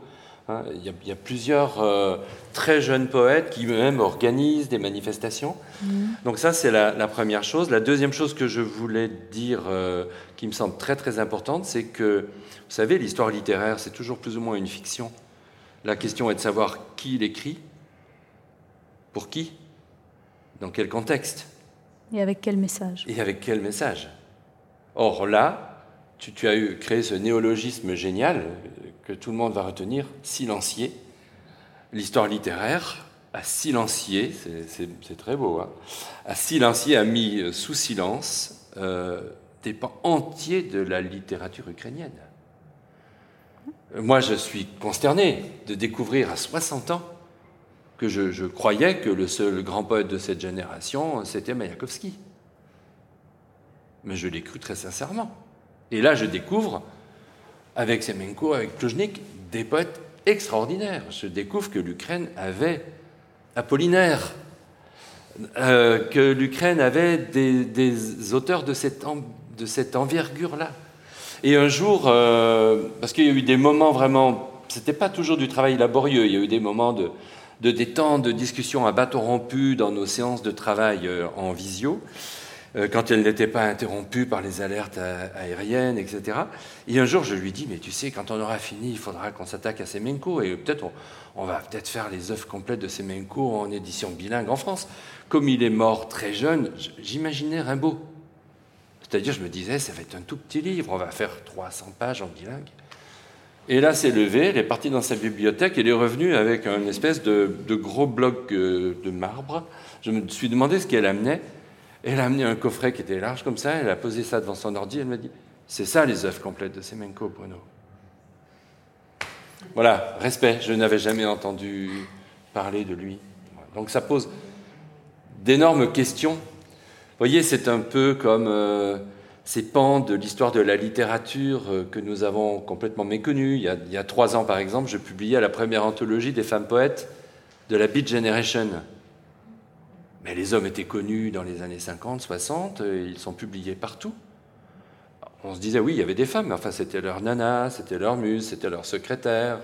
Hein, il y a plusieurs très jeunes poètes qui même organisent des manifestations. Donc ça, c'est la première chose. La deuxième chose que je voulais dire, qui me semble très très importante, c'est que, vous savez, l'histoire littéraire, c'est toujours plus ou moins une fiction. La question est de savoir qui l'écrit, pour qui, dans quel contexte. Et avec quel message. Et avec quel message. Or là, tu as créé ce néologisme génial que tout le monde va retenir, silencier. L'histoire littéraire a silencié, c'est très beau, hein, a silencié, a mis sous silence des pans entiers de la littérature ukrainienne. Moi, je suis consterné de découvrir à 60 ans que je croyais que le seul grand poète de cette génération, c'était Maïakovski. Mais je l'ai cru très sincèrement. Et là, je découvre, avec Semenko, avec Plujnik, des poètes extraordinaires. Je découvre que l'Ukraine avait Apollinaire, que l'Ukraine avait des auteurs de cette envergure-là. Et un jour, parce qu'il y a eu des moments vraiment... C'était pas toujours du travail laborieux, il y a eu des moments de détente, de discussion à bâton rompu dans nos séances de travail en visio, quand elles n'étaient pas interrompues par les alertes aériennes, etc. Et un jour, je lui dis, mais tu sais, quand on aura fini, il faudra qu'on s'attaque à Semenko, et peut-être on va peut-être faire les œuvres complètes de Semenko en édition bilingue en France. Comme il est mort très jeune, j'imaginais Rimbaud. C'est-à-dire, je me disais, ça va être un tout petit livre, on va faire 300 pages en bilingue. Et là, c'est levé, elle est partie dans sa bibliothèque, elle est revenue avec une espèce de gros bloc de marbre. Je me suis demandé ce qu'elle amenait. Elle a amené un coffret qui était large comme ça, elle a posé ça devant son ordi, elle m'a dit « C'est ça les œuvres complètes de Semenko, Bruno. » Voilà, respect, je n'avais jamais entendu parler de lui. Donc ça pose d'énormes questions. Vous voyez, c'est un peu comme ces pans de l'histoire de la littérature que nous avons complètement méconnus. Il y a 3 ans, par exemple, je publiais la première anthologie des femmes poètes de la Beat Generation. Mais les hommes étaient connus dans les années 50, 60, ils sont publiés partout. On se disait, oui, il y avait des femmes, mais enfin, c'était leur nana, c'était leur muse, c'était leur secrétaire.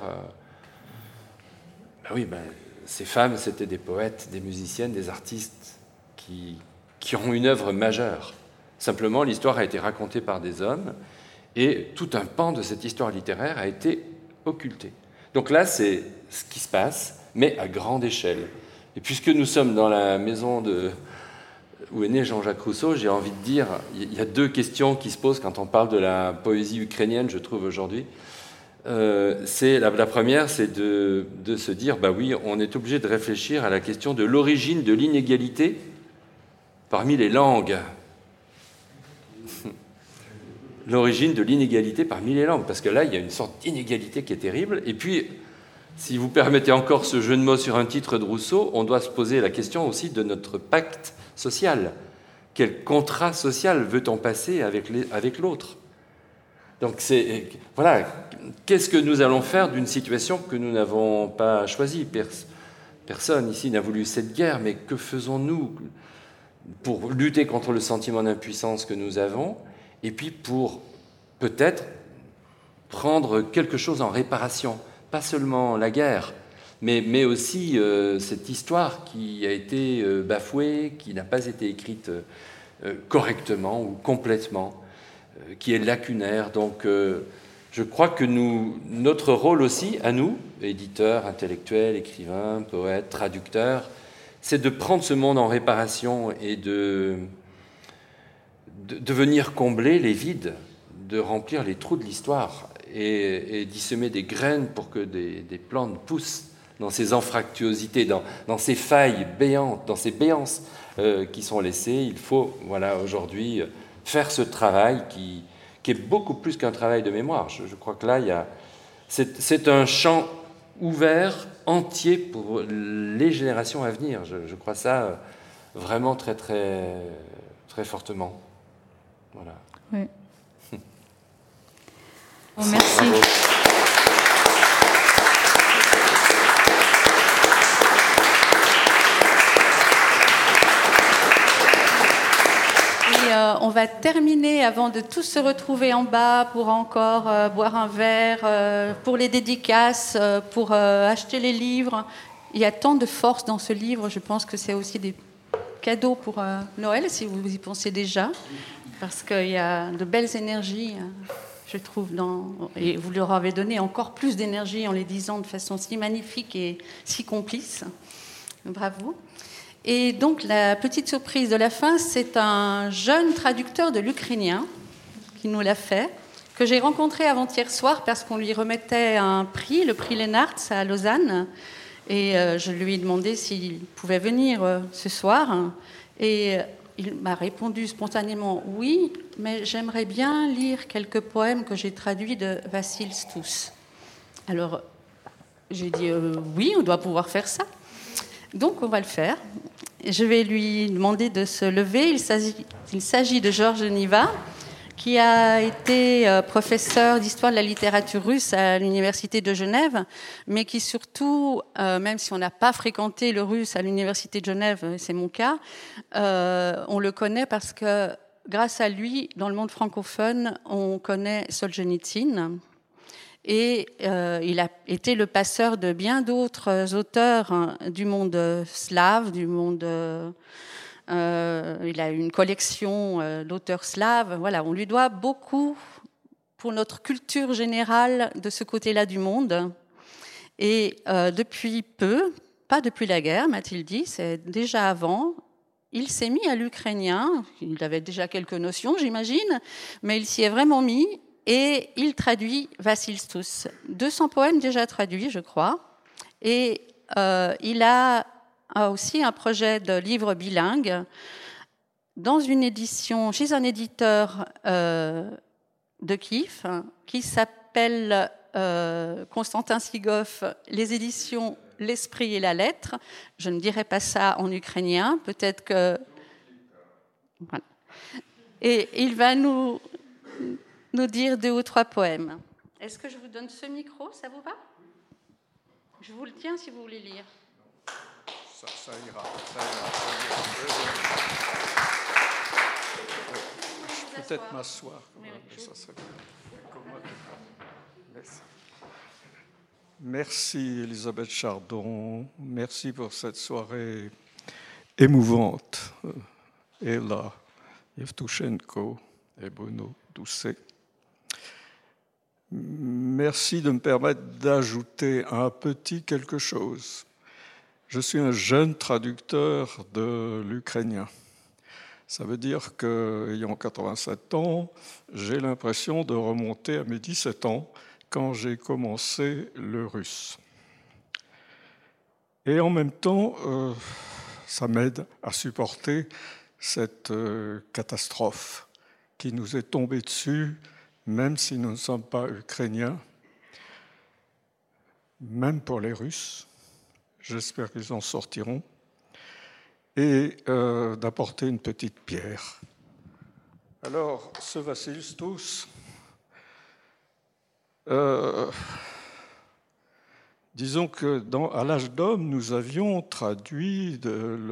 Ces femmes, c'était des poètes, des musiciennes, des artistes qui ont une œuvre majeure. Simplement, l'histoire a été racontée par des hommes, et tout un pan de cette histoire littéraire a été occulté. Donc là, c'est ce qui se passe, mais à grande échelle. Et puisque nous sommes dans la maison où est né Jean-Jacques Rousseau, j'ai envie de dire, il y a 2 questions qui se posent quand on parle de la poésie ukrainienne, je trouve, aujourd'hui. La première, c'est de se dire, oui, on est obligé de réfléchir à la question de l'origine de l'inégalité parmi les langues. L'origine de l'inégalité parmi les langues, parce que là, il y a une sorte d'inégalité qui est terrible. Et puis, si vous permettez encore ce jeu de mots sur un titre de Rousseau, on doit se poser la question aussi de notre pacte social. Quel contrat social veut-on passer avec l'autre ? Donc, voilà, qu'est-ce que nous allons faire d'une situation que nous n'avons pas choisie ? Personne ici n'a voulu cette guerre, mais que faisons-nous pour lutter contre le sentiment d'impuissance que nous avons, et puis pour peut-être prendre quelque chose en réparation ? Pas seulement la guerre, mais aussi cette histoire qui a été bafouée, qui n'a pas été écrite correctement ou complètement, qui est lacunaire. Donc je crois que notre rôle aussi, à nous, éditeurs, intellectuels, écrivains, poètes, traducteurs, c'est de prendre ce monde en réparation et de venir combler les vides, de remplir les trous de l'histoire et d'y semer des graines pour que des plantes poussent dans ces anfractuosités, dans ces failles béantes, dans ces béances qui sont laissées. Il faut, aujourd'hui, faire ce travail qui est beaucoup plus qu'un travail de mémoire. Je crois que là, c'est un champ ouvert, entier pour les générations à venir. Je crois ça vraiment très, très, très fortement. Voilà. Oui. Bon, merci. Et on va va terminer avant de tous se retrouver en bas pour encore boire un verre, pour les dédicaces, pour acheter les livres. Il y a tant de force dans ce livre, je pense que c'est aussi des cadeaux pour Noël, si vous y pensez déjà, parce qu'il y a de belles énergies, je trouve, et vous leur avez donné encore plus d'énergie en les disant de façon si magnifique et si complice. Bravo. Et donc, la petite surprise de la fin, c'est un jeune traducteur de l'ukrainien qui nous l'a fait, que j'ai rencontré avant-hier soir parce qu'on lui remettait un prix, le prix Lennart à Lausanne. Et je lui ai demandé s'il pouvait venir ce soir. Et il m'a répondu spontanément « Oui, mais j'aimerais bien lire quelques poèmes que j'ai traduits de Vassil Stouss. » Alors, j'ai dit « Oui, on doit pouvoir faire ça. » Donc, on va le faire. Je vais lui demander de se lever. Il s'agit de Georges Niva, qui a été professeur d'histoire de la littérature russe à l'Université de Genève, mais qui surtout, même si on n'a pas fréquenté le russe à l'Université de Genève, c'est mon cas, on le connaît parce que, grâce à lui, dans le monde francophone, on connaît Solzhenitsyn. Et il a été le passeur de bien d'autres auteurs du monde slave, du monde... il a une collection d'auteurs slaves. Voilà, on lui doit beaucoup pour notre culture générale de ce côté-là du monde. Et depuis peu, pas depuis la guerre, m'a-t-il dit, c'est déjà avant, il s'est mis à l'ukrainien. Il avait déjà quelques notions, j'imagine, mais il s'y est vraiment mis. Et il traduit Vassil Stouss. 200 poèmes déjà traduits, je crois. Et il a aussi un projet de livre bilingue dans une édition, chez un éditeur de Kiev qui s'appelle Constantin Sigoff, les éditions L'Esprit et la Lettre. Je ne dirai pas ça en ukrainien, peut-être que... Voilà. Et il va nous dire 2 ou 3 poèmes. Est-ce que je vous donne ce micro, ça vous va? Je vous le tiens si vous voulez lire. Ça ira. Je peux peut-être m'asseoir. Oui. Ça serait... Merci Elisabeth Chardon. Merci pour cette soirée émouvante. Ella Yevtushenko et Bruno Doucet. Merci de me permettre d'ajouter un petit quelque chose. Je suis un jeune traducteur de l'ukrainien. Ça veut dire qu'ayant 87 ans, j'ai l'impression de remonter à mes 17 ans quand j'ai commencé le russe. Et en même temps, ça m'aide à supporter cette catastrophe qui nous est tombée dessus, même si nous ne sommes pas ukrainiens, même pour les Russes. J'espère qu'ils en sortiront. Et d'apporter une petite pierre. Alors, ce Vassil Stouss, disons que à l'âge d'homme, nous avions traduit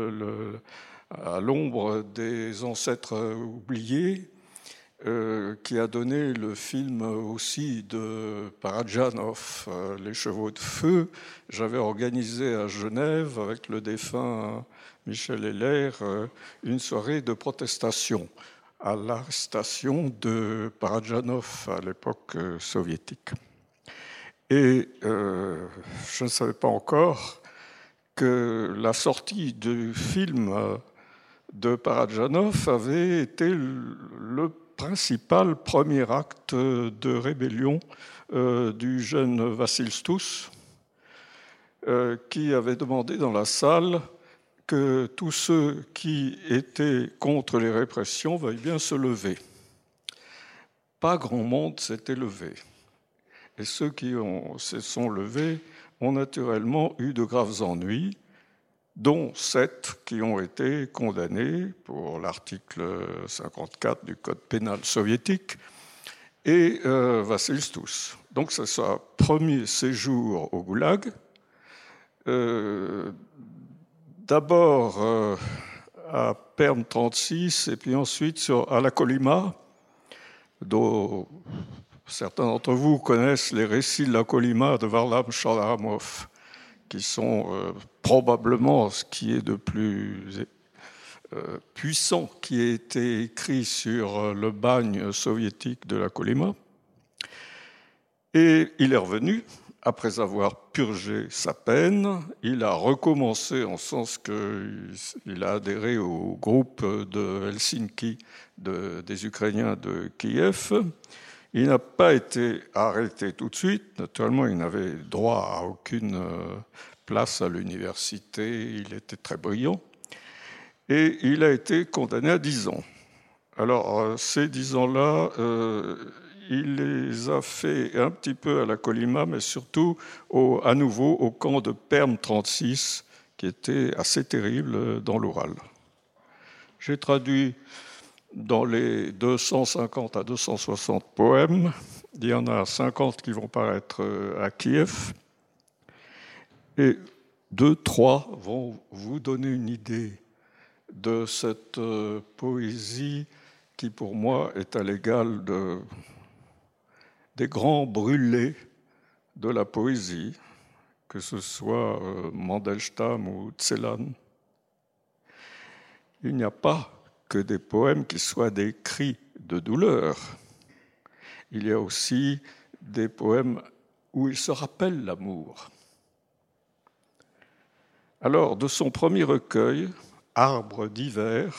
à l'ombre des ancêtres oubliés, qui a donné le film aussi de Parajanov, Les Chevaux de Feu. J'avais organisé à Genève, avec le défunt Michel Heller, une soirée de protestation à l'arrestation de Parajanov à l'époque soviétique. Et je ne savais pas encore que la sortie du film de Parajanov avait été le principal premier acte de rébellion du jeune Vassil Stouss, qui avait demandé dans la salle que tous ceux qui étaient contre les répressions veuillent bien se lever. Pas grand monde s'était levé. Et ceux qui se sont levés ont naturellement eu de graves ennuis, dont 7 qui ont été condamnés pour l'article 54 du Code pénal soviétique, et Vassil Stouss. Donc c'est son premier séjour au Goulag. D'abord à Perm 36 et puis ensuite à la Kolyma, dont certains d'entre vous connaissent les récits de la Kolyma de Varlam Shalaramov, qui sont probablement ce qui est de plus puissant qui a été écrit sur le bagne soviétique de la Kolyma. Et il est revenu, après avoir purgé sa peine, il a recommencé en sens qu'il a adhéré au groupe de Helsinki des Ukrainiens de Kiev. Il n'a pas été arrêté tout de suite. Naturellement, il n'avait droit à aucune place à l'université. Il était très brillant. Et il a été condamné à 10 ans. Alors, ces 10 ans-là, il les a fait un petit peu à la Kolyma, mais surtout à nouveau au camp de Perm 36, qui était assez terrible dans l'Oural. J'ai traduit dans les 250 à 260 poèmes. Il y en a 50 qui vont paraître à Kiev. Et 2-3 vont vous donner une idée de cette poésie qui, pour moi, est à l'égal des grands brûlés de la poésie, que ce soit Mandelstam ou Celan. Il n'y a pas que des poèmes qui soient des cris de douleur. Il y a aussi des poèmes où il se rappelle l'amour. Alors, de son premier recueil, Arbre d'hiver,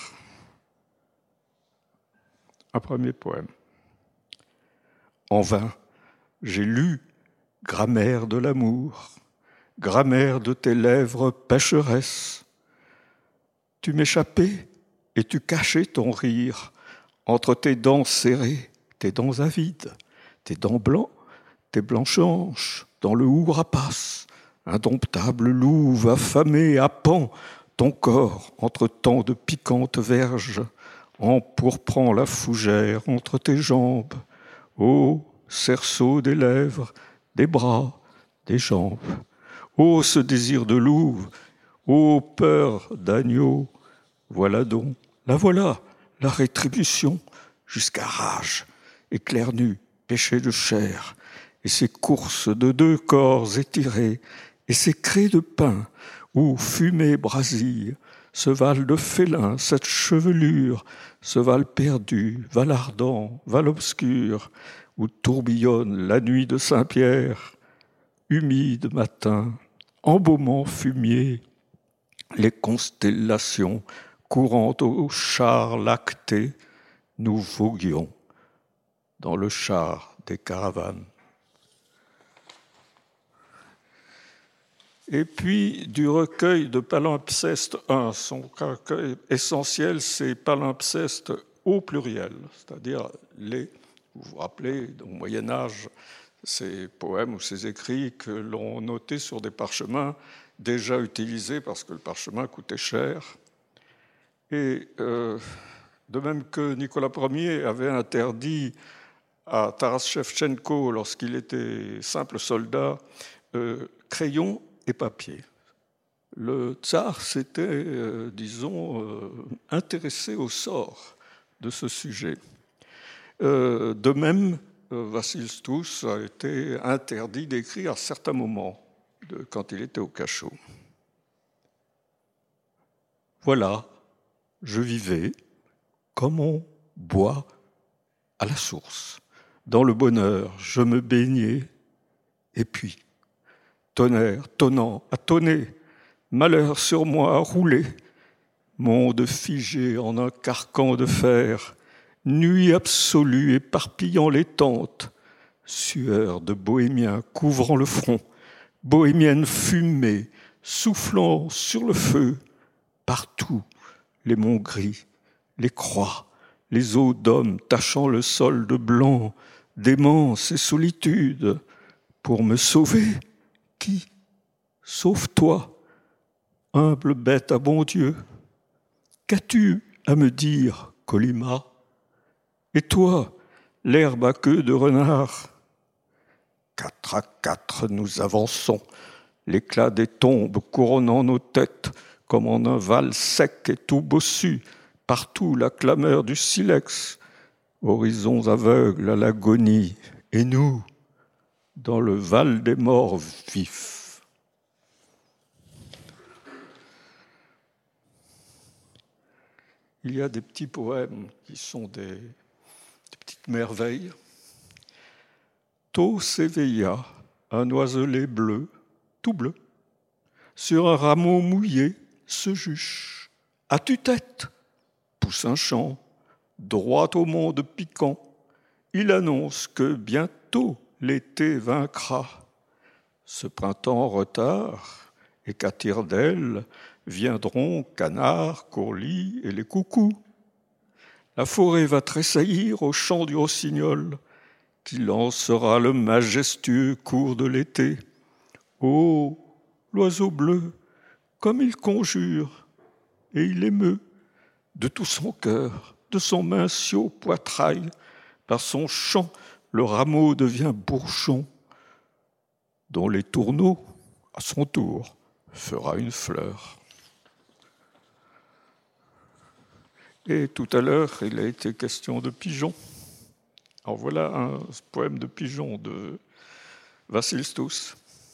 un premier poème. En vain, j'ai lu grammaire de l'amour, grammaire de tes lèvres pécheresses. Tu m'échappais et tu cachais ton rire entre tes dents serrées, tes dents avides, tes dents blancs, tes blanches hanches, dans le hou rapace, indomptable louve affamée à pan, ton corps entre tant de piquantes verges, empourprant la fougère entre tes jambes. Ô cerceau des lèvres, des bras, des jambes. Ô ce désir de louve, ô peur d'agneau. Voilà donc, la voilà, la rétribution, jusqu'à rage, éclair nu, péché de chair, et ces courses de 2 corps étirés, et ces craies de pin, où fumée brasille, ce val de félin, cette chevelure, ce val perdu, val ardent, val obscur, où tourbillonne la nuit de Saint-Pierre, humide matin, embaumant fumier, les constellations courant au char lacté, nous voguions dans le char des caravanes. Et puis, du recueil de palimpseste 1, son recueil essentiel, c'est palimpseste au pluriel, c'est-à-dire vous vous rappelez, au Moyen-Âge, ces poèmes ou ces écrits que l'on notait sur des parchemins déjà utilisés parce que le parchemin coûtait cher. Et de même que Nicolas Ier avait interdit à Taras Shevchenko, lorsqu'il était simple soldat, crayon et papier. Le tsar s'était, intéressé au sort de ce sujet. De même, Vassil Stouss a été interdit d'écrire à certains moments quand il était au cachot. Voilà, je vivais comme on boit à la source. Dans le bonheur, je me baignais, et puis, tonnerre, tonnant, à tonner, malheur sur moi à rouler, monde figé en un carcan de fer, nuit absolue éparpillant les tentes, sueur de bohémien couvrant le front, bohémienne fumée, soufflant sur le feu, partout les monts gris, les croix, les eaux d'hommes tachant le sol de blanc, démence et solitude, pour me sauver. Qui? Sauve-toi, humble bête à bon Dieu. Qu'as-tu à me dire, Kolyma? Et toi, l'herbe à queue de renard? 4 à 4, nous avançons, l'éclat des tombes couronnant nos têtes, comme en un val sec et tout bossu, partout la clameur du silex, horizons aveugles à l'agonie, et nous, dans le val des morts vifs. Il y a des petits poèmes qui sont des petites merveilles. Tôt s'éveilla un oiselet bleu, tout bleu, sur un rameau mouillé se juche. À tue-tête, pousse un chant, droit au monde piquant. Il annonce que bientôt l'été vaincra. Ce printemps en retard, et qu'à tire-d'aile viendront canards, courlis et les coucous. La forêt va tressaillir au chant du rossignol, qui lancera le majestueux cours de l'été. Oh, l'oiseau bleu, comme il conjure, et il émeut de tout son cœur, de son mincio poitrail, par son chant, le rameau devient bourgeon, dont les tourneaux, à son tour, fera une fleur. Et tout à l'heure, il a été question de pigeons. Alors voilà un poème de pigeons de Vassil Stous.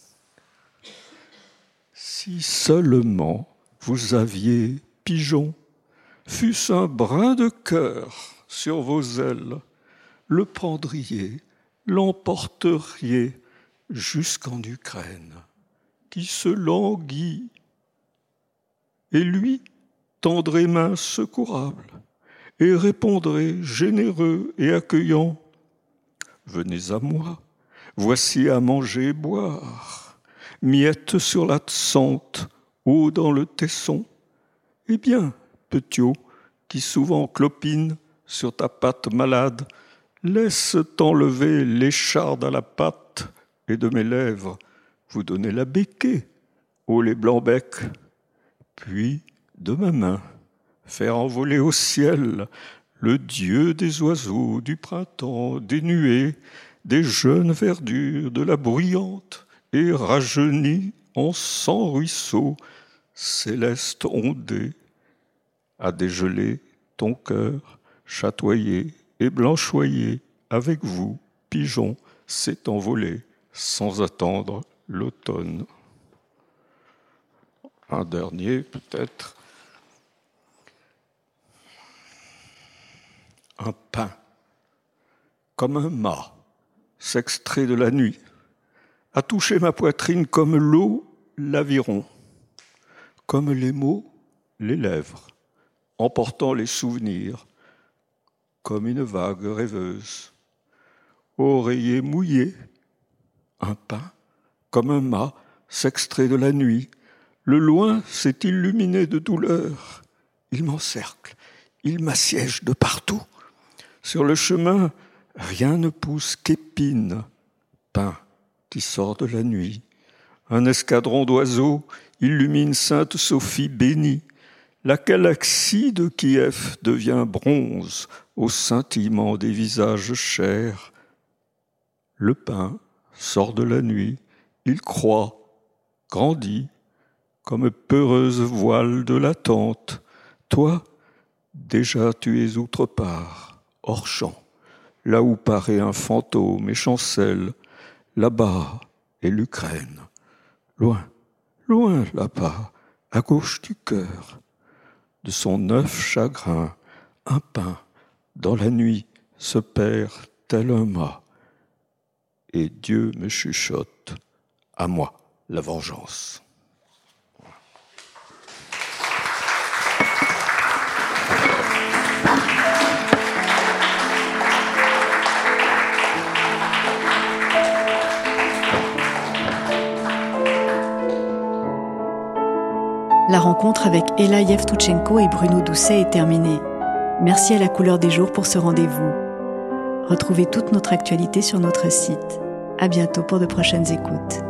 Si seulement vous aviez pigeons, fût-ce un brin de cœur sur vos ailes, le prendriez, l'emporteriez jusqu'en Ukraine, qui se languit, et lui tendrait main secourable, et répondrait généreux et accueillant, « Venez à moi, voici à manger et boire, miettes sur la tsante, eau dans le tesson, eh bien, petiot, qui souvent clopine sur ta patte malade, laisse t'enlever l'écharde à la patte, et de mes lèvres vous donner la béquée, ô les blancs-becs, puis de ma main faire envoler au ciel le dieu des oiseaux, du printemps, des nuées, des jeunes verdures, de la bruyante et rajeunie en 100 ruisseaux, céleste ondée, à dégeler ton cœur, chatoyer et blanchoyer, avec vous, pigeon, s'est envolé sans attendre l'automne. Un dernier, peut-être. Un pain, comme un mât, s'extrait de la nuit, a touché ma poitrine comme l'eau l'aviron, comme les mots les lèvres, emportant les souvenirs, comme une vague rêveuse. Oreiller mouillé, un pain, comme un mât, s'extrait de la nuit. Le loin s'est illuminé de douleur. Il m'encercle, il m'assiège de partout. Sur le chemin, rien ne pousse qu'épines, pain qui sort de la nuit. Un escadron d'oiseaux illumine Sainte-Sophie bénie. La galaxie de Kiev devient bronze au scintillement des visages chers. Le pain sort de la nuit, il croît, grandit, comme peureuse voile de l'attente. Toi, déjà tu es outre part. Hors champ, là où paraît un fantôme et chancelle, là-bas est l'Ukraine. Loin, loin là-bas, à gauche du cœur, de son œuf chagrin, un pain, dans la nuit, se perd tel un mât. Et Dieu me chuchote, à moi la vengeance. La rencontre avec Ella Yevtuchenko et Bruno Doucet est terminée. Merci à la Couleur des Jours pour ce rendez-vous. Retrouvez toute notre actualité sur notre site. À bientôt pour de prochaines écoutes.